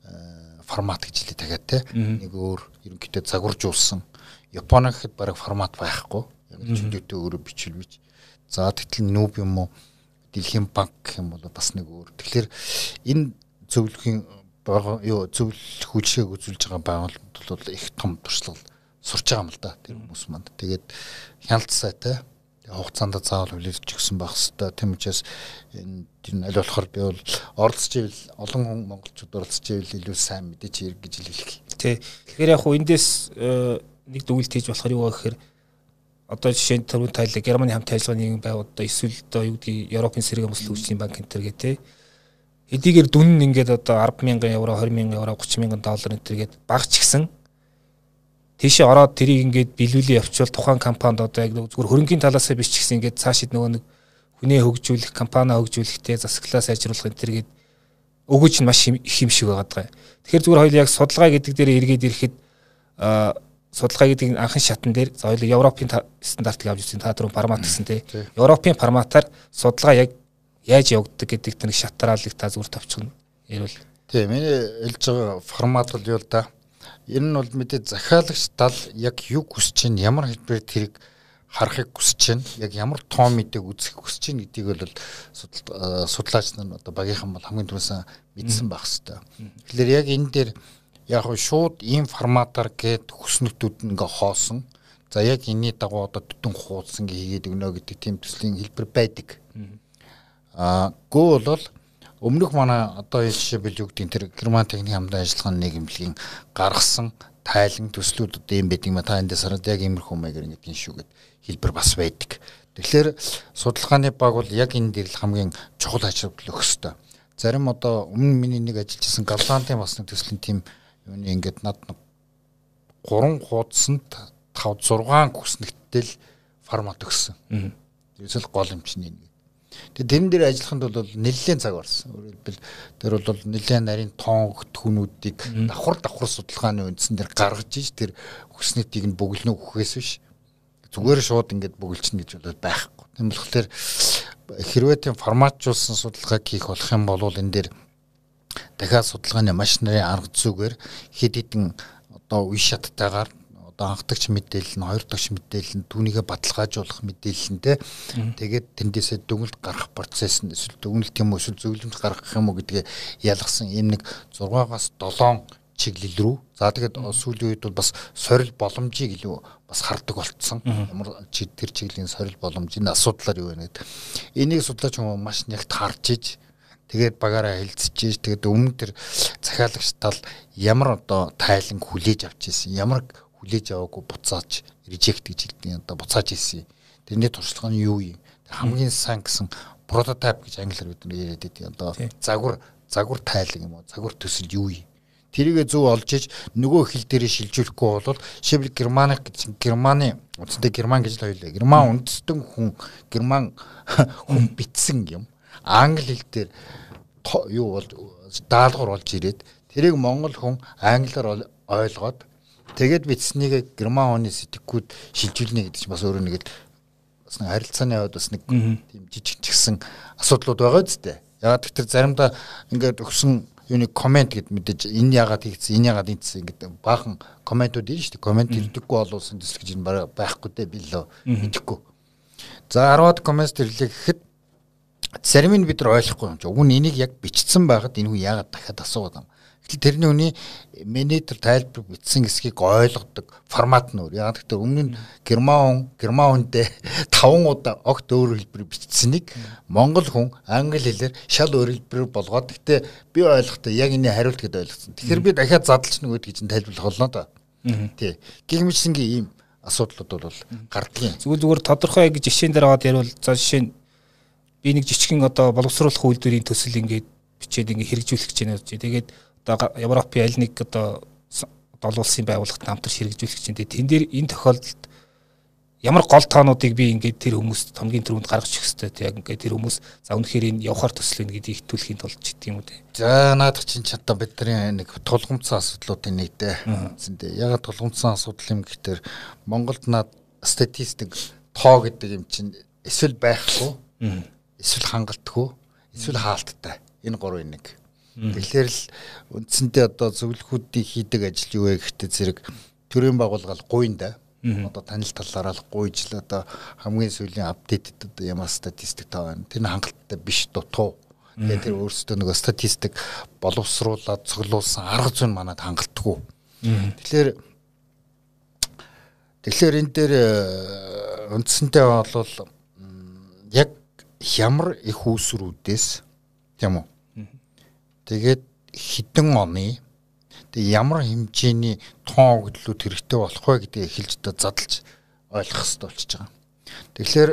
формат гэж хэлээ дахиад те нэг өөр ерөнхийдөө загваржуулсан. Японы гэхэд бараг формат байхгүй. Яг чөлөөтэй өөрөө бичүүлвэж. За тэгтэл нүүб юм уу Дэлхийн банк гэх юм бол бас нэг өөр. Тэгэхээр энэ зөвлөхийн юу зөвлөх үйлчилгээг үзүүлж байгаа байгууллагууд бол их том туршлага сурч байгаа юм л да тэр хүмүүс манд. Тэгээд хяналт сайтай хугацаанд заавал хүлээлж өгсөн байх хэвээр. Тийм учраас энэ тэр аль болохоор би бол оролцож ивэл олон хүн монголчууд оролцож ивэл илүү сайн мэдээч хэрэг гэж хэлэх. Тий. Тэгэхээр яг хуу эндээс нэг дүгнэлт хийж болохоор юу гэхээр одоо жишээ нь түрүүн тайлбар Германы хамт ажиллагааны нэгэн байгууллага одоо эсвэл одоо юу гэдгийг Европын сэргээн бус хөгжлийн банк энэ төр гэдэг хэдийгээр дүн нь ингээд одоо арван мянган евро, двадцать мянган евро, тридцать мянган доллар энэ төр гээд багч гисэн тийшээ ороод тэрийг ингээд биелүүлээ явуучвал тухайн компанид одоо яг зүгээр хөрөнгөний талаас нь биш ч гэсэн ингээд цаашид нөгөө нэг хүнээ хөгжүүлэх, компани хөгжүүлэхтэй засаглаа сайжруулах энэ төр гээд өгөөж нь маш их юм шиг байгаа даа. Тэгэхээр зүгээр хоёул яг судалгаа гэдэг дээр эргээд ирэхэд аа судалгаа гэдэг анхан шатн дээр за хоёул Европын стандартыг авч ирсэн та түрүү формат гэсэн те. Европын форматаар судалгаа яг яаж явагддаг гэдэг тэр шатраалыг та зүгээр товчхон ярил. Тийм миний хэлж байгаа формат бол юу л да. Энэ нь бол мэдээ захиалагч тал яг юу хүсэж чинь ямар хэлбэрээр тэрийг харахыг хүсэж чинь яг ямар тоон мэдээг үзэх хүсэж чинь гэдгийг бол судлаач нар одоо багийнхан бол хамгийн түрүүсэн мэдсэн байх хэвээр. Тэгэхээр яг энэ дээр яг шууд ийм форматаар гээд хүснэгтүүд нь ингээ хоосон. За яг энэний дагуу одоо төдөн хуудсан хийгээд өгнө гэдэг тийм төслийн хэлбэр байдаг. Аа гоо бол өмнөх манай одоо жишээ бил юу гэдэг тэр Герман техник хамтын ажиллагааны нийгэмлэгийн гаргасан тайлан төслүүд одоо юм байдаг юм та эндээс хараад яг иймэрхүү маягаар ингэдэг шүү гэд хэлбэр бас байдаг. Тэгэхээр судалгааны баг бол яг энэ дээр л хамгийн чухал ажил өгөх ёстой. Зарим одоо өмнө миний нэг ажиллаж байсан Голландын бас нэг төслийн тим юуны ингээд над гурван хуудсанд тавь зургаан хүснэгтэл формат өгсөн. Тэрсэл гол юм чинь нэг. Тэгээд тэрэн дээр ажиллаханд бол нэлээд цаг барсан. Өөрөөр хэлбэл тэр бол нэлээд нарийн тоон хөтгөнүүдийг давхар давхар судалгааны үндсэн дээр гаргаж иж тэр хүснэтийг нь бөглөнө өгөхөөс биш. Зүгээр шууд ингээд бөглөчнө гэж бол байхгүй. Тийм болохоор хэрвээ тийм форматжуулсан судалгааг хийх болох юм бол энэ дээр дахиад судалгааны маш нарын арга зүйгээр хэд хэдэн одоо үе шаттайгаар одоо анхдагч мэдээлэл нь хоёр дахь мэдээлэл нь түүнийгээ баталгаажуулах мэдээлэл нь те тэгээд тэндээсээ дүгнэлт гаргах процесс нь эсвэл дүгнэлт юм уу эсвэл зөвлөмж гаргах юм уу гэдгээ ялгсан ийм нэг зургаагаас долоон чиглэл рүү за тэгээд сүүлийн үед бол бас сорил боломжийг илүү бас хардаг болцсон ямар тэр чиглийн сорил боломжийн асуудлаар юу вэ гэдэг энийг судлаач хүмүүс маш нягт харж иж тэгээд багаараа хэлцэж тэгээд өмнө тэр захиалагч тал ямар одоо тайлан хүлээж авч ирсэн ямар хүлээж аваагүй буцааж режект гэж хэлдэг одоо буцааж ирсэн тэрний туршлага нь юу юм хамгийн сайн гэсэн прототип гэж англиар бид нар яриад байдаг одоо загвар загвар тайлан юм уу загвар төсөл юу юм тэрийгэ зөв олж иж нөгөө хэл дээрээ шилжүүлэхгүй бол шибл Германы гэж Германы үндсэндээ Герман гэж л хоёлаа Герман үндэстэн хүн Герман хүн бичсэн юм англи хэл дээр юу бол даалгавар болж ирээд тэрийг монгол хүн англиар ойлгоод тэгээд бичснийг герман хүний сэтгэхүйд шилжүүлнэ гэдэг чинь бас өөрөө нэг бас нэг харилцааны яваад бас нэг тийм жижиг чигсэн асуудлууд байгаа зү. Ягаад гэвэл заримдаа ингээд өгсөн юуны комент гэд мэдээж энэ ягаад хийгдсэн энэ ягаад ийдсэн ингээд баахан комментууд ирнэ шүү дээ. Коммент ирдэггүй болуулсан төсөл гэж энэ байхгүй дээ би лөө мэдэхгүй. За арваад коммент ирлээ гэхэд зарим нь бид нар ойлгохгүй юм чи. Уг нь энийг яг бичсэн байхад энэ хүн яагаад дахиад асуугаад юм. Гэтэл тэрний хүний менежер тайлбар бичсэн хэсгийг ойлгодог формат нь өөр. Яг гэхдээ өмнө нь герман хүн герман хүндээ таван удаа огт өөр хэлбэр бичсэнийг монгол хүн англи хэлээр шал өөр хэлбэр болгоод гэхдээ би ойлгохдоо яг энэ хариулт гэдээ ойлгосон. Тэгэхээр би дахиад задлж нэг үгт гэж тайлбарлах болно доо. Тий. Гэх мэтсэнгийн ийм асуудлууд бол гардаг юм. Зүгээр зүгээр тодорхой яг жишээн дээр аваад ярил за жишээ нь би нэг жижигхэн одоо боловсруулах үйлдвэрийн төсөл ингээд бичээд ингээд хэрэгжүүлэх гэж байна. Тэгээд одоо Европын аль нэг одоо долуулсан байгууллагт хамтар хэрэгжүүлэх чинь тэн дээр энэ тохиолдолд ямар гол тоонуудыг би ингээд тэр хүмүүст хамгийн түрүүнд гаргаж өгөх хэрэгтэй. Яг ингээд тэр хүмүүс за үнэхээр энэ явахаар төсөл байна гэдгийг итгүүлэхийн тулд ч гэдэг юм уу те. За наадах чинь ч одоо бидний нэг тулгымцсан асуудлуудын нэг дээ. Үндсэндээ ягаад тулгымцсан асуудал юм гэхээр Монголд наад статистик тоо гэдэг юм чинь эсвэл байхгүй, эсвэл хангалтгүй, эсвэл хаалттай. Энэ гурвын нэг. Тэгэхээр л үндсэндээ одоо зөвлөхүүдийн хийдэг ажил юу вэ гэхдээ зэрэг төрийн байгууллага гуйн да. Одоо танил талаараа л гуйж л одоо хамгийн сүүлийн апдейтэд одоо ямар статистик таа байна. Тэр хангалттай биш дутуу. Тэгээд тэр өөрсдөө нөгөө статистик боловсруулаад цуглуулсан арга зүйн манад хангалтгүй. Тэгэхээр тэгэхээр энэ дээр үндсэндээ бол яг ямар их үүсрүүдээс тийм үү. Тэгээд хідэн оны тэг ямар хэмжээний тоон өгдлүүд хэрэгтэй болох вэ гэдгийг эхэлж одоо задлж ойлгох хэрэгтэй болчихж байгаа. Тэгэхээр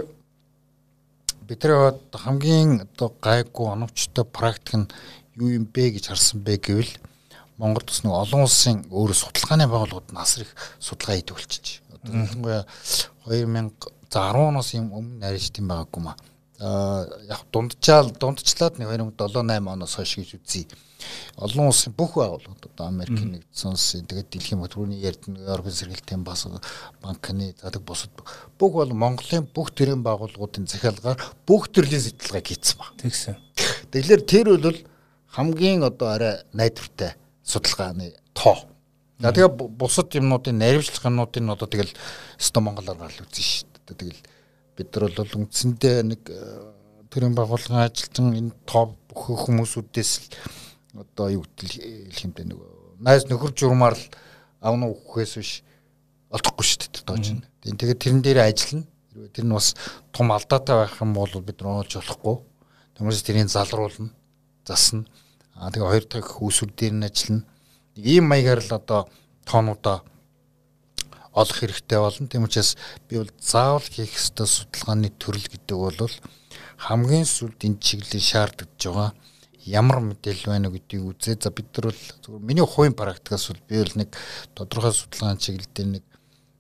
бидний хамгийн одоо гайгүй оновчтой практик нь юу юм бэ гэж харсан бэ гэвэл Монголд бас нэг олон улсын өөр судалгааны байгууллагууд нас их судалгаа хийдэг болчихж. Одоо ялангуяа две тысячи десять оноос юм өмнө нарийнж тийм байгаагүй маа. Аа яг дундчаал дундчлаад нэг две тысячи севен восемь оноос хойш гэж үзье. Олон улсын бүх байгууллагууд одоо Америкийн нэгдсэн улсын тэгээд дэлхийн төрөний ярдны Европын сэргээлтийн бас банкны задаг бусад бүх бол Монголын бүх төрлийн байгууллагуудын захиалгаар бүх төрлийн судалгааг хийсэн ба. Тэгсэн. Тэгэхээр тэр бол хамгийн одоо арай найдвартай судалгааны тоо. За тэгээ бусад юмнуудын наривчлах юмнуудын одоо тэгэл өстө монголоор гал үзэн шүү дээ. Тэгэл бид нар бол үндсэндээ нэг төрлийн байгууллагын ажилтан энэ тоо бүх хүмүүсүүдээс л одоо юу хэлэх юм бэ нэг найз нөхөр журмаар л авна өгөхөөс биш олдохгүй шүү дээ тоож байна. Тэгээд тэрэн дээр ажиллана. Тэр нь бас том алдаатай байх юм бол бид нар оолж болохгүй. Тиймээс тэрийг залруулна, засна. Аа тэгээ хоёр дахь үүсвэр дээр нь ажиллана. Ийм маягаар л одоо тоонуудаа олох хэрэгтэй болно. Тийм учраас би бол заавал хийх ёстой судалгааны төрөл гэдэг бол хамгийн сүүлд энэ чиглэлийн шаардлагаж байгаа ямар мэдээлэл байна гэдгийг үзээ. За бид нар бол зөвхөн миний хувийн практикаас бол би бол нэг тодорхой судалгааны чиглэл дээр нэг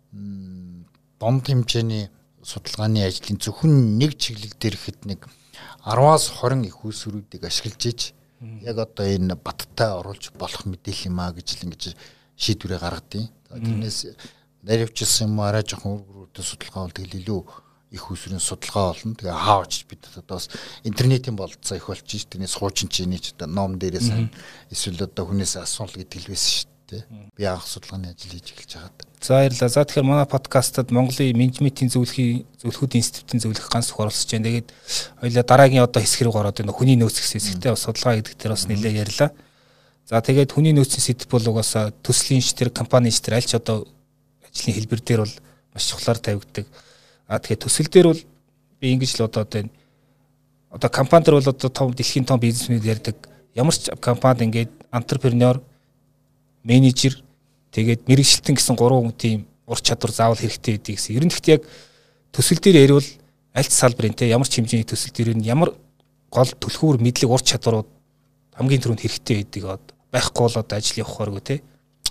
донд хэмжээний судалгааны ажлын зөвхөн нэг чиглэл дээр ихэд нэг десять-аас двадцать их үүсвэрүүдийг ашиглаж иж яг одоо энэ баттай оруулж болох мэдээлэл юм а гэж л ингэж шийдвэрээ гаргадیں۔ Тэрнээс наривчилсан юм арай жоохон үргэрүүтэй судалгаа бол тэгэл илүү их усрын судалгаа болно. Тэгээ хаавч бид одоо бас интернетийн болцоо их болчих. Тэрнээс хуучин чиний ч одоо ном дээрээс эсвэл одоо хүнээс асуул гэдэг л байсан шүү дээ. Би анх судалгааны ажил хийж эхэлж байгаад. За баярлалаа. За тэгэхээр манай подкастад Монголын менежментийн зөвлөхийн зөвлөхүүдийн институтын зөвлөх ганц их оролцож байна. Тэгээд хоёлаа дараагийн одоо хэсэг рүү ороод байна. Хүний нөөц гэсэн хэсэгтээ бас судалгаа гэдэг дээр бас нэлээд ярьлаа. За тэгээд хүний нөөцийн сэдв бол угаасаа төслийн шитэр, компани шитэр аль ч одоо ажлын хэлбэр дээр бол маш чухлаар тавигддаг. А тэгэхээр төсөл дээр бол би ингэж л одоо одоо одоо компани дээр бол одоо том дэлхийн том бизнесмэнүүд ярьдаг. Ямар ч компанид ингээд антрепренер, менежер тэгээд мэрэгчлэн гэсэн гурван тийм ур чадвар заавал хэрэгтэй гэдэг гэсэн. Ер нь гэхдээ яг төсөл дээр ярил аль ч салбарын те ямар ч хэмжээний төсөл дээр нь ямар гол түлхүүр мэдлэг ур чадварууд хамгийн түрүүнд хэрэгтэй байдаг байхгүй бол одоо ажил явахааргүй те.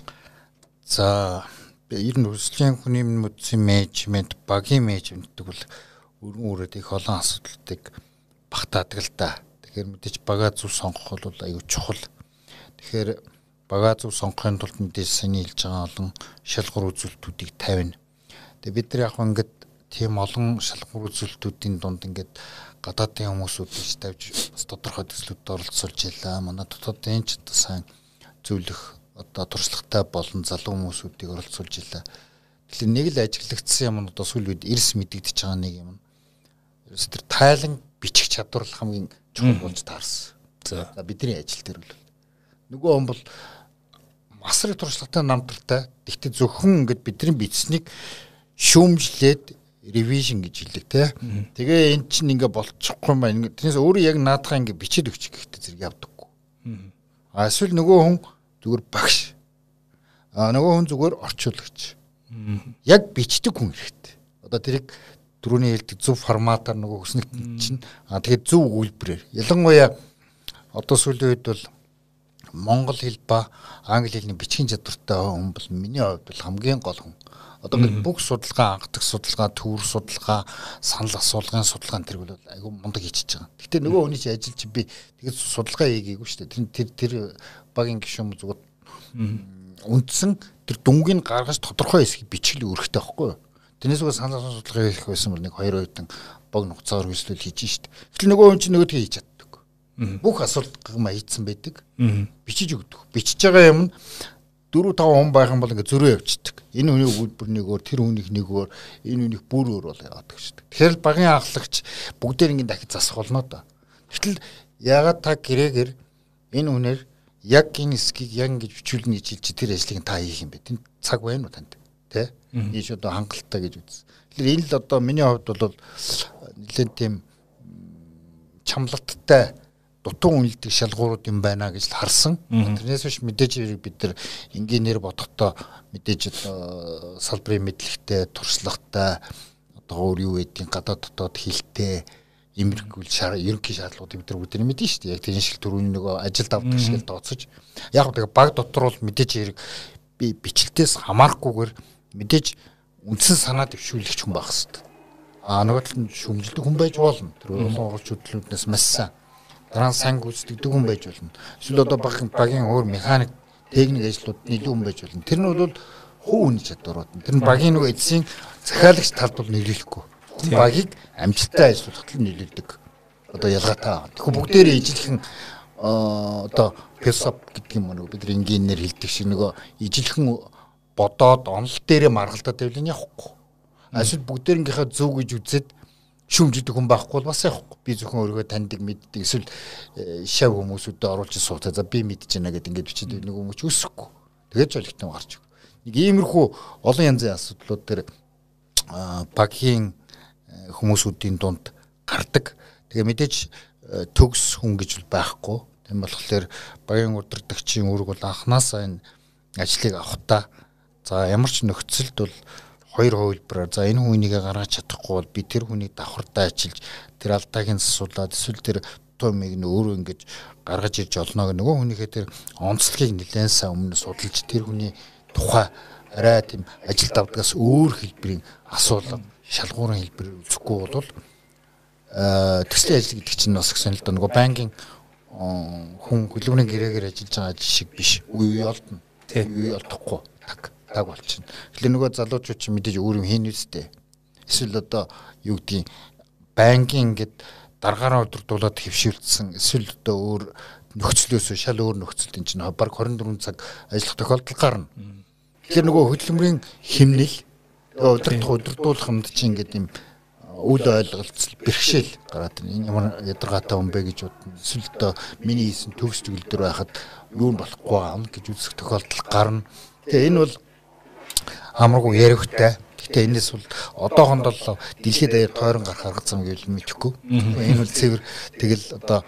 За ер нь өрсөлдөөн хүний мөдсөн менежмент, багийн менежмент гэдэг бол өргөн үрээд их олон асуудлыг багтаадаг л да. Тэгэхээр мэдээж бага зөв сонгох бол аюу чухал. Тэгэхээр бага зөв сонгохын тулд мэдээж саний хэлж байгаа олон шалгуур үзүүлэлтүүдийг тавина. Тэгээ бид нар яг ингээд тийм олон шалгуур үзүүлэлтүүдийн дунд ингээд гадаадын хүмүүсүүдийг тавьж бас тодорхой төслүүдэд оролцуулж ялаа. Манай дотоодын ч одоо сайн зөвлөх одоо туршлагатай болон залуу хүмүүсүүдийг оролцуулж илаа. Тэгэхээр нэг л ажиглагдсан юм одоо сүүл үед эрс мэдэгдэж байгаа нэг юм. Ерөөс тэр тайлан бичих чадвар хамгийн чухал болж таарсан. За бидний ажил дээр бол нөгөө хүн бол масрын туршлагатай намтартай. Гэхдээ зөвхөн ингээд бидний бичснийг шүүмжлээд ревижн гэж хэлдэг те. Тэгээ эн чинь ингээд болчихгүй юм байна. Тэрнээс өөрөө яг наадахаа ингээд бичээд өгчих гэхдээ зэрэг явдаггүй. А эсвэл нөгөө хүн зүгээр багш. А нөгөө хүн зүгээр орчуулагч. Яг бичдэг хүн хэрэгтэй. Одоо тэрийг түрүүний хэлдэг зөв форматаар нөгөө хүснэг чинь а тэгээд зөв үйлбэрээр. Ялангуяа одоо сүүлийн үед бол Монгол хэл ба англи хэлний бичгийн чадвартай хүн бол миний хувьд бол хамгийн гол хүн. Одоо ингээд бүх судалгаа, анхдаг судалгаа, төвөр судалгаа, санал асуулгын судалгаа тэр бол айгүй мундаг хийчихэж байгаа. Гэхдээ нөгөө хүний чинь ажил чи би тэгээд судалгаа хийгээгүй шүү дээ. Тэр тэр багийн гишүүн зүгт үндсэн тэр дүнгийн гаргаж тодорхой хэсгийг бичгэл өрхтэй байхгүй юу? Тэрнээс үгүй санал асуулгын судалгаа хийх байсан бол нэг хоёр удаа баг нугацаар хөөслөл хийж штт. Тэгэл нөгөө хүн чинь нөгөөдгөө хийж чаддаг. Бүх асуулт маягдсан байдаг. Бичиж өгдөг. Бичиж байгаа юм нь дөрөв таван хүн байх юм бол ингээ зөрөө явчихдаг. Энэ хүний өгүүлбэр нэг өөр, тэр хүнийх нэг өөр, энэ хүнийх бүр өөр бол яваад гэж. Тэгэхээр багийн анхлагч бүгдээр ингээ дахиж засах болно да. Гэтэл ягаад та гэрээгээр энэ хүнээр яг энэ эсгийг яг ингэж бичүүлнэ гэж хэлж тэр ажлыг та хийх юм бэ? Тэнд цаг байна уу танд? Тэ? Ийш одоо хангалттай гэж үз. Тэгэхээр энэ л одоо миний хувьд бол нэлээд тийм чамлалттай дутуу үнэлдэг шалгуурууд юм байна гэж харсан. Тэрнээс биш мэдээж бид нар инженеэр бодохдоо мэдээж одоо салбарын мэдлэгтэй, туршлагатай одоо өөр юу гэдгийг гадаад дотоод хэлтэй эмэрхүүл ерөнхий шаардлагуудыг бид нар бүгд мэднэ шүү дээ. Яг тийм шиг төрөний нөгөө ажилд авдаг шиг тооцож. Яг тэгээ баг дотор бол мэдээж хэрэг би бичлэгтээс хамаарахгүйгээр мэдээж үндсэн санаа дэвшүүлэгч хүн байх хэрэгтэй. Аа нөгөө талд шүмжилдэг хүн байж болно. Тэр олон оролч хөдөлгөөнөөс маш сайн дараа нь сайн гүйцэтгэдэг хүн байж болно. Эсвэл одоо багийн багийн өөр механик, техник ажлууд илүү хүн байж болно. Тэр нь бол хуу хүний чадварууд. Тэр нь багийн нөгөө эцсийн захиалагч талд бол нийлүүлэхгүй. Багийг амжилттай ажиллуулахад л нийлүүлдэг. Одоо ялгаатай. Тэгэхээр бүгдээрээ ижилхэн одоо философи гэдэг юм уу бид инженеэр хэлдэг шиг нөгөө ижилхэн бодоод онол дээрээ маргалдаад байвал явахгүй. Эсвэл бүгдээрийнхээ зөв гэж үзээд шүмжидэг хүн байхгүй бол бас явахгүй. Би зөвхөн өөрийгөө таньдаг мэддэг эсвэл шав хүмүүсүүдэд оруулж сууцаа за би мэдэж байна гэдэг ингээд бичиж нэг хүмүүс өсөхгүй. Тэгээд жолигтон гарч өг. Нэг иймэрхүү олон янзын асуудлууд тэр багийн хүмүүсүүдийн дунд гардаг. Тэгээ мэдээж төгс хүн гэж байхгүй. Тийм болохоор багийн удирдагчийн үүрэг бол анханасаа энэ ажлыг авахтаа за ямар ч нөхцөлд бол хоёр хувилбараар за энэ хүнийгээ гаргаж чадахгүй бол би тэр хүнийг давхартай ажиллаж тэр алдааг нь засуулаад эсвэл тэр томыг нь өөрөө ингэж гаргаж ирж олно гэх нөгөө хүнийхээ тэр онцлогийг нэлээд сайн өмнө судалж тэр хүний тухай арай тийм ажилд авдагаас өөр хэлбэрийн асуулга шалгуурын хэлбэрээр үзэхгүй бол төслийн ажил гэдэг чинь бас гэсэн л да нөгөө банкин хүн хөлбөрийн гэрээгээр ажиллаж байгаа ажил шиг биш үе үе олдно үе олдохгүй так таг болчихно. Тэгэхээр нөгөө залуучууд чинь мэдээж өөр юм хийн үстэй. Эсвэл одоо юу гэдгийг банкин гэд даргаараа удирдуулаад хэвшүүлсэн эсвэл одоо өөр нөхцлөөс шал өөр нөхцөлд энэ чинь баг хорин дөрвөн цаг ажиллах тохиолдол гарна. Тэгэхээр нөгөө хөдөлмөрийн хэмнэл удирдах удирдуулах юмд чинь ингээд юм үл ойлголцол бэрхшээл гараад энэ ямар ядаргаатай юм бэ гэж бодно. Эсвэл одоо миний хийсэн төгс төгөлдөр байхад юу болохгүй юм гэж үзэх тохиолдол гарна. Тэгээ энэ бол амаргүй яригтай. Гэхдээ энэс бол одоохонд бол дэлхийд даяар тойрон гарах арга зам гэвэл мэдэхгүй. Энэ бол цэвэр тэгэл одоо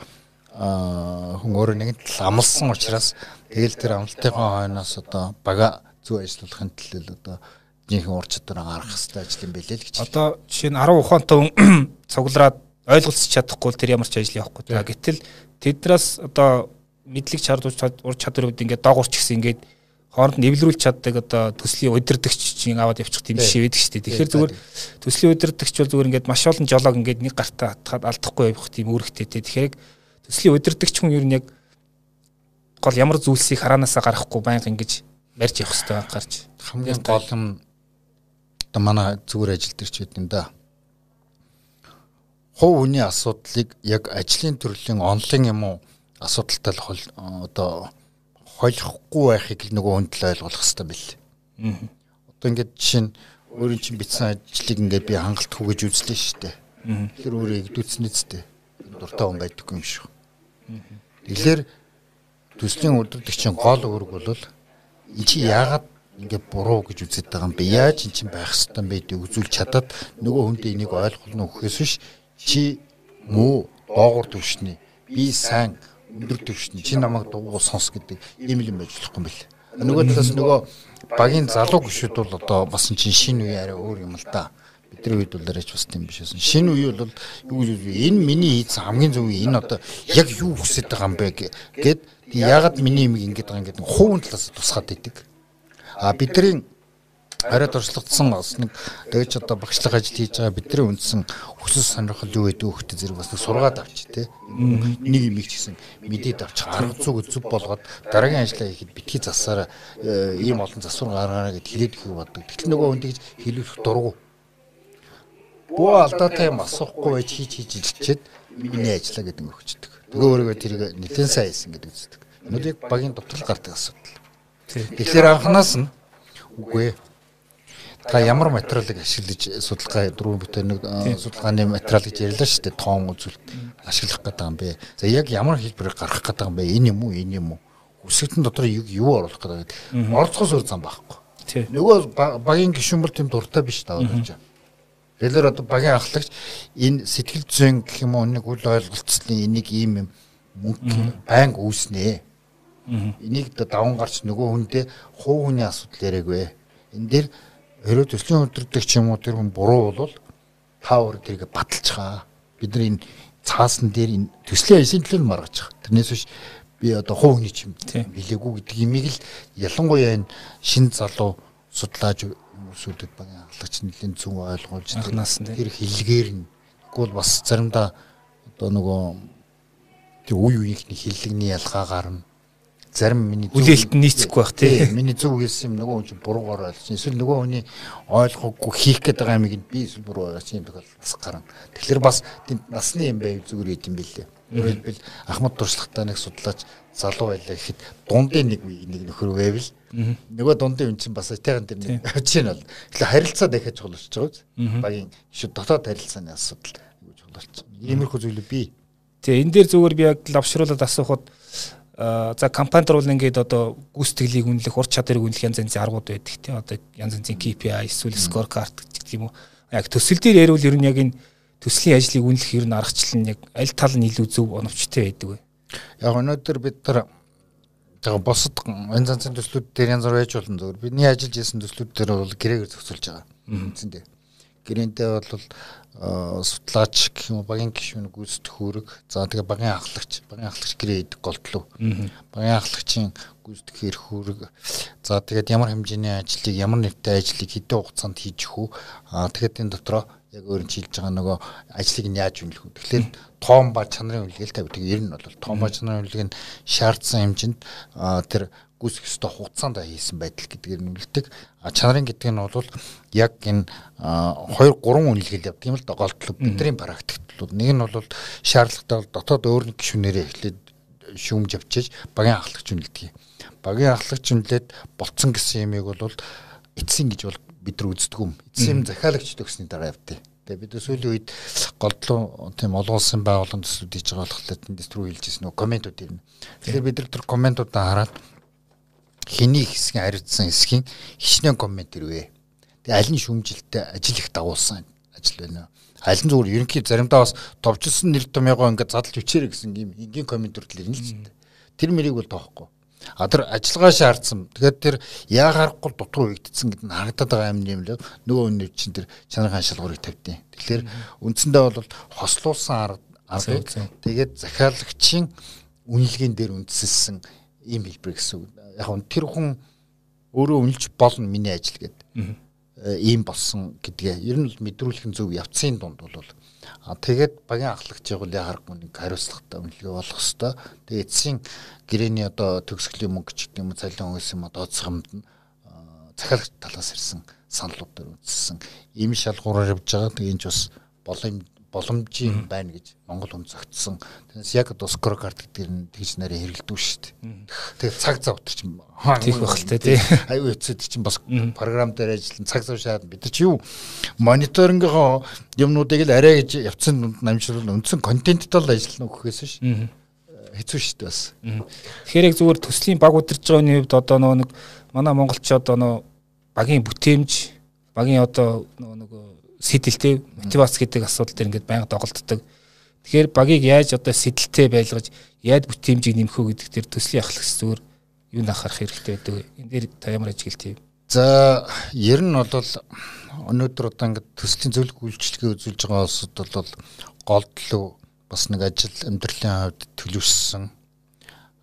хүн өөрөө нэгэн тал амлсан учраас тэгэл тэр амлалтынхаа хойноос одоо бага зөв ажиллуулахын төлөө одоо жинхэнэ ур чадвараа гаргах хэрэгтэй ажил юм билээ л гэж. Одоо жишээ нь арван ухаантай хүн цуглараад ойлголцож чадахгүй тэр ямар ч ажил явахгүй. Гэтэл тэднээс одоо мэдлэг чардууч ур чадварууд ингээд доогуурч гисэн ингээд хооронд нэвлэрүүлж чаддаг одоо төслийн удирдагч чинь аваад явчих тийм биш байдаг шүү дээ. Тэгэхээр зүгээр төслийн удирдагч бол зүгээр ингээд маш олон жолоог ингээд нэг гартаа хатгаад алдахгүй явах тийм үүрэгтэй. Тэгэхээр төслийн удирдагч хүн ер нь яг гол ямар зүйлсийг хараанасаа гарахгүй байнга ингэж барьж явах хэрэгтэй гарч. Хамгийн гол юм одоо манай зүгээр ажил дээр ч үгүй юм да. Хов хүний асуудлыг яг ажлын төрлийн онлын юм уу асуудалтай л одоо хойлохгүй байхыг л нөгөө хүнд л ойлгох хэрэгтэй бэл. Одоо ингээд жишээ нь өөрийн чинь бичсэн ажлыг ингээд би хангалтгүй гэж үзлээ шүү дээ. Тэгэхээр өөрөө игдүүцнэ зү. Дуртай хүн байдаггүй юм шүү. Тэгэхээр төслийн удирдагчийн гол үүрэг бол энэ чи яагаад ингээд буруу гэж үзээд байгаа юм бэ? Яаж энэ чинь байх ёстой юм бэ гэдгийг үзүүлж чадаад нөгөө хүндээ энийг ойлгоно өгөхөөс биш чи муу доогуур төвшний би сайн өндөр төвшний чи намайг дугуй сонс гэдэг ийм юм ажиллахгүй юм бэл. Нөгөө талаас нөгөө багийн залуу гүшүүд бол одоо бас чинь шинэ үе арай өөр юм л да. Бидний үед бол арайч бас тийм биш байсан. Шинэ үе бол юу вэ? Энэ миний хийсэн хамгийн зөв үе. Энэ одоо яг юу хүсэж байгаа юм бэ гэд Яагаад миний имийг ингэж байгаа юм гэдэг хувийн талаас тусгаад идэг. А бидний арай туршлагатсан бас нэг дэж одоо багшлах ажил хийж байгаа бидний үндсэн хүсэл сонирхол юу гэдэг хөхтэй зэрэг бас нэг сургаад авч тий. Нэг имийг ч гэсэн мэдээд авч арга зүг зөв болгоод дараагийн ажлаа хийхэд битгий засаараа ийм олон засвар гаргаараа гэд хэлээд өгөх боддог. Тэгтэл нөгөө хүн тэгж хэлүүлэх дургу. Бөө алдаатай юм асуухгүй байж хийж хийж илчээд миний ажиллаа гэдэг нь өгчдөг. Тэгээ өөрийгөө тэрийг нэлээд сайн хийсэн гэдэг үздэг. Өнөөдөр багийн дотрол гардаг асуудал. Тэгэхээр анханаас нь үгүй та ямар материалыг ашиглаж судалгаа дөрвөн бүтээр нэг судалгааны материал гэж ярьлаа шүү дээ. Тоон үзүүлэлт ашиглах гэдэг юм бэ. За яг ямар хэлбэрээр гаргах гэдэг юм бэ? Энэ юм уу, энэ юм уу? Үсэгтэн дотор юу оруулах гэдэг. Орцгоос өөр зам байхгүй. Нөгөө багийн гишүүн бол тийм дуртай биш таа болж байна. Тэгэхээр одоо багийн ахлагч энэ сэтгэл зүйн гэх юм уу нэг үл ойлголцлын энийг ийм юм мөнгө банк үүснэ. Энийг даван гарч нөгөө хүндээ хувь хүний асуудал яриагвэ. Энэ дээр хэрэг төслийн өдөртөг ч юм уу тэр хүн буруу бол та өөр тэрийг баталцгаа. Бид нар энэ цаасан дээр энэ төслийн ажлын төлөө маргаж байгаа. Тэрнээс биш би одоо хувь хүний ч юм билээгүй гэдэг имийг л ялангуяа энэ шин залуу судлаач хүмүүсүүдэд багийн ахлагч нэлийн зөв ойлгуулж тэр хэлгээр нь тэгвэл бас заримдаа одоо нөгөө тэр үе үеийнхний хэллэгний ялгаа гарна. Зарим миний үлээлт нийцэхгүй байх тий. Миний зөв хэлсэн юм нөгөө хүн чинь буруугаар ойлгосон. Эсвэл нөгөө хүний ойлгохгүй хийх гээд байгаа юмыг би эсвэл буруу ойлгосон юм бол бас гарна. Тэгэхээр бас насны юм байв зүгээр юм билээ. Өөрөлдвөл Ахмад туршлагатай нэг судлаач залуу байлаа гэхэд дундын нэг нэг нөхөр байвал нөгөө дундын юм чинь бас тайган дээр нэг чинь бол тэгэхээр харилцаа дахиад чухалч байгаа үз. Багийн шүү дотоод харилцааны асуудал юу чухалч. Иймэрхүү зүйлүүд бий. Тэгээ энэ дээр зүгээр би яг лавшруулаад асуухад за компанид бол ингээд одоо гүйцэтгэлийг үнэлэх, ур чадварыг үнэлэх янз янзын аргууд байдаг тийм одоо янз янзын кей пи ай эсвэл скор карт гэх юм уу. Яг төсөл дээр ярил ер нь яг энэ төслийн ажлыг үнэлэх ер нь аргачлал нь яг аль тал нь илүү зөв оновчтой байдаг вэ? Яг өнөөдөр бид нар тэгээ босод янз янзын төслүүд дээр янз бүр байж болно зөвөр. Бидний ажиллаж ирсэн төслүүд дээр бол гэрээгээр зохицуулж байгаа. Үндсэндээ. Гэрээнтэй бол судлаач гэх юм багийн гишүүн гүйцэтгэх үүрэг за тэгээ багийн ахлагч багийн ахлагч гэрээ идэг голдлоо багийн ахлагчийн гүйцэтгэх эрх үүрэг за тэгээд ямар хэмжээний ажлыг ямар нэртэй ажлыг хэдэн хугацаанд хийж өгөх аа тэгээд энэ дотроо яг өөрөөр хэлж байгаа нөгөө ажлыг нь яаж үнэлэх вэ тэгэхээр тоон ба чанарын үнэлгээл тавь тэгээд ер нь бол тоон ба чанарын үнэлгээ нь шаардсан хэмжээнд тэр гүйцэх ёстой хугацаанд хийсэн байдал гэдгээр нь үлддэг. А чанарын гэдэг нь бол яг энэ хоёр гурван үнэлгээл явдаг юм л да голдлоо бидний практиклууд. Нэг нь бол шаардлагатай бол дотоод өөр нэг гишүүнээрээ эхлээд шүүмж авчиж багийн ахлагч үнэлдэг. Багийн ахлагч үнэлээд болцсон гэсэн юмыг бол эцсийн гэж бол бид нар үздэг юм. Эцсийн захиалагч төгсний дараа явдаг. Тэгээ бид сүүлийн үед голдлоо тийм олон улсын байгууллагын төслүүд хийж байгаа болохоор тэндээс түрүү хэлжсэн нөгөө комментууд ирнэ. Тэгэхээр бид нар тэр комментуудаа хараад хэний хэсгийн хариуцсан хэсгийн хичнээн коммент ирвэ. Тэгээ аль нь шүүмжилттэй ажил их дагуулсан ажил байна. Аль нь зүгээр ерөнхий заримдаа бас товчсон нэр томьёогоо ингээд задлж өчээрэй гэсэн юм энгийн коммент төрөл ирнэ л ч гэдэг. Тэр мэрийг бол тоохгүй. А тэр ажиллагаа шаардсан. Тэгэхээр тэр яа гарахгүй дутуу үйгдсэн гэдэг нь харагдаад байгаа юм юм л нөгөө үнэ чинь тэр чанарын шалгуурыг тавьдیں۔ Тэгэхээр үндсэндээ бол хослуулсан арга тэгээд захиалагчийн үнэлгээнд дээр үндэслсэн ийм хэлбэр гэсэн үг. Яг нь тэр хүн өөрөө үнэлж болно миний ажил гэдэг. Ийм болсон гэдгээ ер нь л мэдрүүлэх зөв явцын дунд бол а тэгээд багийн ахлагчийг бол яхахгүй нэг хариуцлагатай үнэлгээ болох хэвээр. Тэгээд эцсийн гэрээний одоо төгсгөлийн мөнгө ч гэдэг юм уу цалин өгсөн юм одоо цахамд нь захиалагч талаас ирсэн саналууд дээр үндэслсэн ийм шалгуураар явж байгаа. Тэгээд энэ ч бас болом боломжийн байна гэж Монгол хүн зогтсон. Тэгээс яг одоо скор карт гэдэг нь тэгж нарийн хэрэгэлдэг шүү дээ. Тэгээд цаг зав өтер чинь тийх байх л тий. Аюу эцэд чинь бас програм дээр ажиллан цаг зав шаад бид нар чи юу мониторингийнхоо юмнуудыг л арай гэж явцсан дунд намжруулал үндсэн контенттэй л ажиллана өгөхөөс ш. Хэцүү шүү дээ бас. Тэгэхээр яг зүгээр төслийн баг удирж байгаагийн хувьд одоо нэг манай монголчууд одоо багийн бүтээмж багийн одоо нөгөө сэдэлтэй мотивац гэдэг асуудал дээр ингээд байнга доголддог. Тэгэхээр багийг яаж одоо сэдэлтэй байлгаж яаж бүтээмжийг нэмэх үү гэдэг дээр төслийн ахлагч зүгээр юу анхаарах хэрэгтэй байдаг вэ? Энэ дээр та ямар ажиглалт юм? За ер нь бол өнөөдөр одоо ингээд төслийн зөвлөх үйлчлэгээ үзүүлж байгаа улсууд бол голдлоо бас нэг ажил амьдралын хувьд төлөвшсөн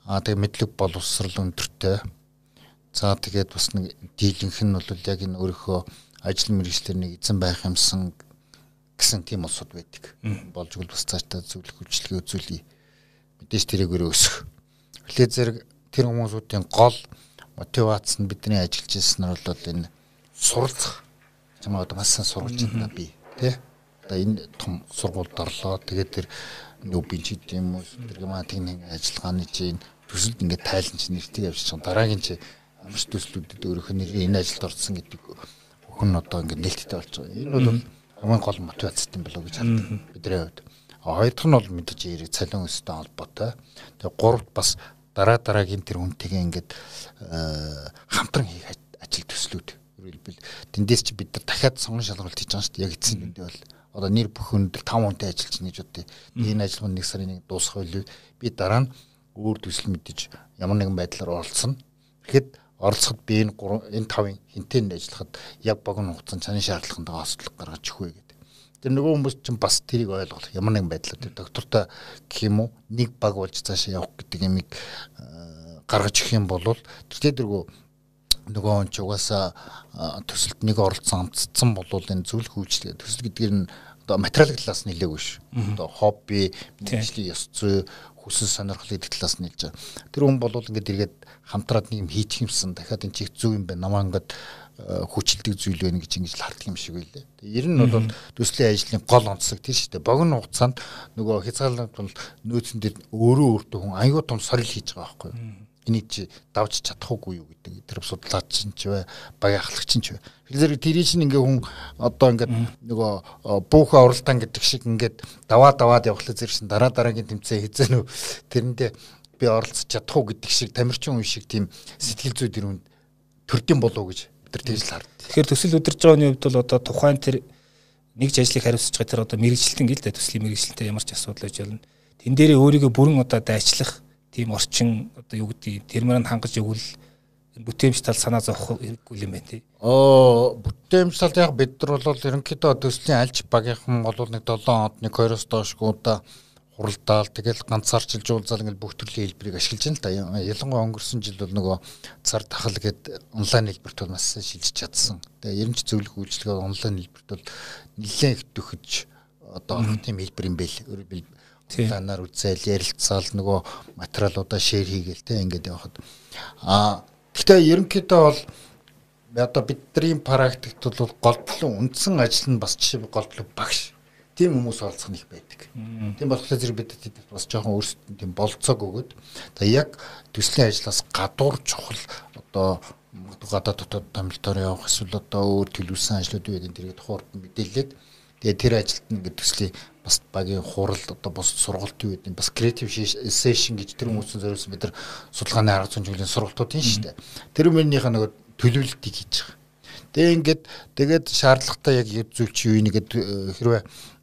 Аа тэгээ мэдлэг боловсрал өндөртэй. За тэгээд бас нэг дийлэнх нь бол яг энэ өөрийнхөө ажил мэргэжлэр нэг эзэн байх юмсан гэсэн тийм улсууд байдаг. Болж игэл бас цаашдаа зөвлөх үйлчлэгээ үзүүлье. Мэдээж тэрийгээр өсөх. Эхлээ зэрэг тэр хүмүүсүүдийн гол мотивац нь бидний ажиллаж ирсэн нь бол энэ суралцах. Чамаа одоо маш сайн сургуулж байна би тий. Одоо энэ том сургуульд орлоо. Тэгээд тэр нүүбин ч гэдэм юм уу тэр гэмаа техник ажиллагааны чинь төсөлд ингээд тайлан чи нэртийг авчиж байгаа. Дараагийн чи ямар ч төслүүдэд өөрөөх нь энэ ажилд орсон гэдэг өхөн одоо ингээд нээлттэй болж байгаа. Энэ бол хамгийн гол мотивацтай юм болоо гэж хардаг бидний хувьд. Хоёр дахь нь бол мэдээж яриг цалин өсөлттэй холбоотой. Тэгээ гуравт бас дараа дараагийн тэр хүнтэйгээ ингээд хамтран хийх ажил төслүүд. Өөрөлдвөл тэндээс чи бид нар дахиад сонгон шалгуулт хийж байгаа шүү дээ. Яг эцсийн дүндээ бол одоо нэр бүхэнд таван хүнтэй ажиллаж байна гэж бодъё. Энэ ажиллагаа нэг сарын нэг дуусах байлгүй. Би дараа нь өөр төсөл мэдээж ямар нэгэн байдлаар оролцсон. Тэгэхэд оролцоход би энэ энэ тавын хинтээнд ажиллахад яг богино хугацаанд чаны шаардлаганд ослог гаргаж өгөх үү гэдэг. Тэр нөгөө хүмүүс чинь бас тэрийг ойлгох ямар нэгэн байдлаар тэр доктортой гэх юм уу нэг баг болж цаашаа явах гэдэг юмыг гаргаж өгөх юм бол тэр тэргөө нөгөө он ч угаасаа төсөлд нэг оролцсон амтцсан бол энэ зөвлөх үйлчлэг төсөл гэдгээр нь одоо материал талаас нь нэлээгүй ш. Одоо хобби, мэргэжлийн ёс зүй, хүсэл сонирхлын талаас нь хэлж байгаа. Тэр хүн бол ингээд эргээд хамтраад нэг юм хийчих юмсан дахиад энэ чих зүг юм байна. Намаа ингээд хүчилдэг зүйл байна гэж ингэж л харддаг юм шиг байлээ. Тэр нь бол төслийн ажлын гол онцлог тийм шүү дээ. Богино хугацаанд нөгөө хязгаарлалт бол нөөцөн дээр өөрөө өөртөө хүн аюу тум сорил хийж байгаа байхгүй юу? Энийг чи давж чадахгүй юу гэдэг тэр судлаач чинь ч вэ багийн ахлагч чинь ч вэ тэгэхээр тэр чинь ингээ хүн одоо ингээ нөгөө буухаа уралдаан гэдэг шиг ингээ даваа даваад явхлаа зэрэгсэн дараа дараагийн тэмцээн хийзэн үү тэрэндээ би оролцож чадахгүй гэдэг шиг тамирчин хүн шиг тийм сэтгэл зүй тэр хүн төрдөм болов гэж бид нар тэгж л хард. Тэгэхээр төсөл удирж байгааны хувьд бол одоо тухайн тэр нэгж ажлыг хариуцж байгаа тэр одоо мэрэгжилтэн гээл дээ төслийн мэрэгжилтэнтэй ямар ч асуудал байж болно. Тэн дээрээ өөрийгөө бүрэн одоо дайчлах тийм орчин одоо юу гэдэг тэрмээр нь хангаж өгвөл бүтээмж тал санаа зовох хэрэггүй юм байна тий. Оо бүтээмж талд яг бид нар бол ерөнхийдөө төслийн альж багийнхан бол нэг долоон хоног нэг хоёроос доошгүй удаа хуралдаал тэгэл ганцаарчилж уулзаал ингээл бүх төрлийн хэлбэрийг ашиглаж байна л да. Ялангуяа өнгөрсөн жил бол нөгөө цар тахал гэдэг онлайн хэлбэрт бол маш шилжиж чадсан. Тэгээ ерөнч зөвлөх үйлчлэгээ онлайн хэлбэрт бол нэлээд их төхөж одоо орох тийм хэлбэр юм байл. Өөрөөр танаар үзэл ярилцаал нөгөө материалуудаа шеэр хийгээл те ингээд явахад а гэхдээ ерөнхийдөө бол одоо бидний практикт бол голдлон үндсэн ажил нь бас жишээ голдлог багш тийм хүмүүс олцох нь их байдаг. Тийм болохоор зэрэг бид бас жоохон өөрсдөд тийм болцоог өгөөд тэгээ яг төслийн ажлаас гадуур чухал одоо гадаад дотоод томилтоор явах эсвэл одоо өөр төлөвлөсөн ажлууд үү гэдэг тэрийг тухайд мэдээлээд тэгээ тэр ажилд нь ингээд төслийн бас багийн хурал одоо бос сургалт юу гэдэг бас creative session гэж тэр хүмүүсийн зориулсан бид нар судалгааны арга зүйн чиглэлийн сургалтууд юм шүү дээ. Тэр мөрнийхээ нөгөө төлөвлөлтийг хийж байгаа. Тэгээ ингээд тэгээд шаардлагатай яг зүйлч юу нэгэд хэрвээ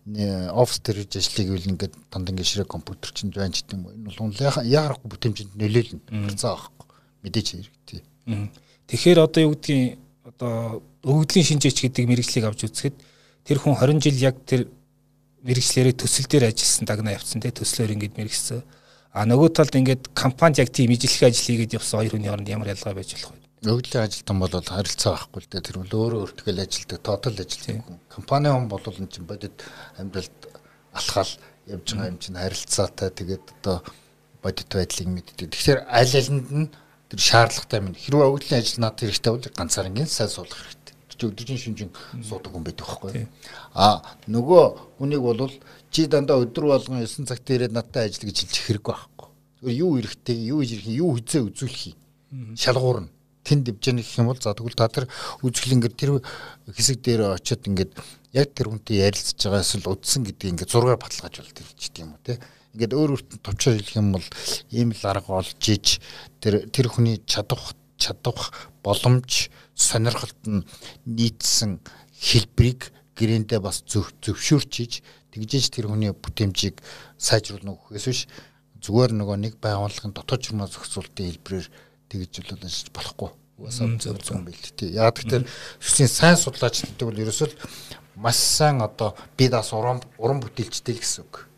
офис дээр хийж ажлыг үйл ингээд данд ингээд ширээ компьютер чинь байна ч гэдэм юм. Энэ бол яарахгүй бүтэмжинд нөлөөлнө. Хэцүү аахгүй. Мэдээж хэрэгтэй. Тэгэхээр одоо юу гэдгийг одоо өгөгдлийн шинжээч гэдэг мэргэжлийг авч үзэхэд тэр хүн хорин жил яг тэр мэргэжлэрээ төсөл дээр ажилласан дагнаа явцсан те төслөөр ингээд мэргэжсэн. А нөгөө талд ингээд компанид яг тийм ижлэх ажил хийгээд явсан хоёр хүний хооронд ямар ялгаа байж болох вэ? Өгөгдлийн ажилтан бол харилцаа байхгүй л дээ. Тэр бол өөрөө өөртөө ажилдаг, тоотал ажилдаг хүн. Компани хүн бол энэ чинь бодит амьдралд алхаал явж байгаа юм чинь харилцаатай тэгээд одоо бодит байдлыг мэддэг. Тэгэхээр аль алинд нь тэр шаардлагатай юм. Хэрвээ өгөгдлийн ажил над хэрэгтэй бол ганцаараа сайн суулгах хэрэгтэй. Өдөржин шинжин суудаг хүн байдаг байхгүй. А нөгөө хүнийг бол чи дандаа өдөр болгон ёсон цагт ирээд надтай ажил гэж хэлчих хэрэггүй байхгүй. Зүгээр юу эрэхтэй, юу ирэх, юу хизээ үзүүлэх юм. Шалгуур нь тэнд дивжэн гэх юм бол за тэгвэл та тэр үзэхэл ингээд тэр хэсэг дээр очиод ингээд яг тэр хүнтэй ярилцж байгаа эсвэл үдсэн гэдгийг ингээд зургаар баталгааж болт хэлчихдэг юм уу те. Ингээд өөр өөртөө товчоор хэлэх юм бол ийм л арга олж иж тэр тэр хүний чадах чадах боломж сонирхолт нь нийцсэн хэлбэрийг гэрээндээ бас зөвшөөрч иж тэгжээж тэр хүний бүтэмжийг сайжруулна гэхээс биш зүгээр нөгөө нэг байгууллагын дотоод журмаа зохицуулалтын хэлбэрээр тэгж боловч болохгүй. Уусаа зөв юм байл тий. Яг тэгэхээр төслийн сайн судлаач гэдэг бол ерөөсөө маш сайн одоо би даас уран уран бүтээлчтэй л гэсэн үг.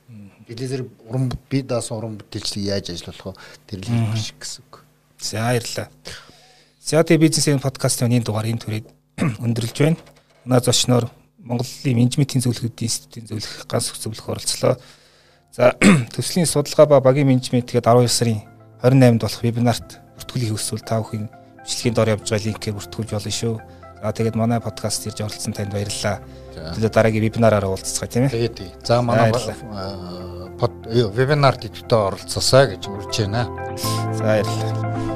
Элизэр уран бие даасан уран бүтээлчлийг яаж ажиллах вэ? Тэр л хэлбэр шиг гэсэн үг. За баярлалаа. Сяти бизнесийн подкастын энэ дугаар энэ түрээд өндөрлж байна. Манай зочноор Монголын менежментийн зөвлөгөөний институтын зөвлөх ганц зөвлөх оролцлоо. За төслийн судалгаа ба багийн менежмент гээд арван хоёр сарын хорин найманд болох вебинарт бүртгүүлэх хүсвэл та бүхэн бичлэгийн доор явж байгаа линкээр бүртгүүлж болно шүү. За тэгээд манай подкаст ирж оролцсон танд баярлалаа. Тэгээд дараагийн вебинараараа уулзцгаая тийм ээ. Тэгээд за манай вебинарт идэвхтэй оролцоосаа гэж урьж байна. За баярлалаа.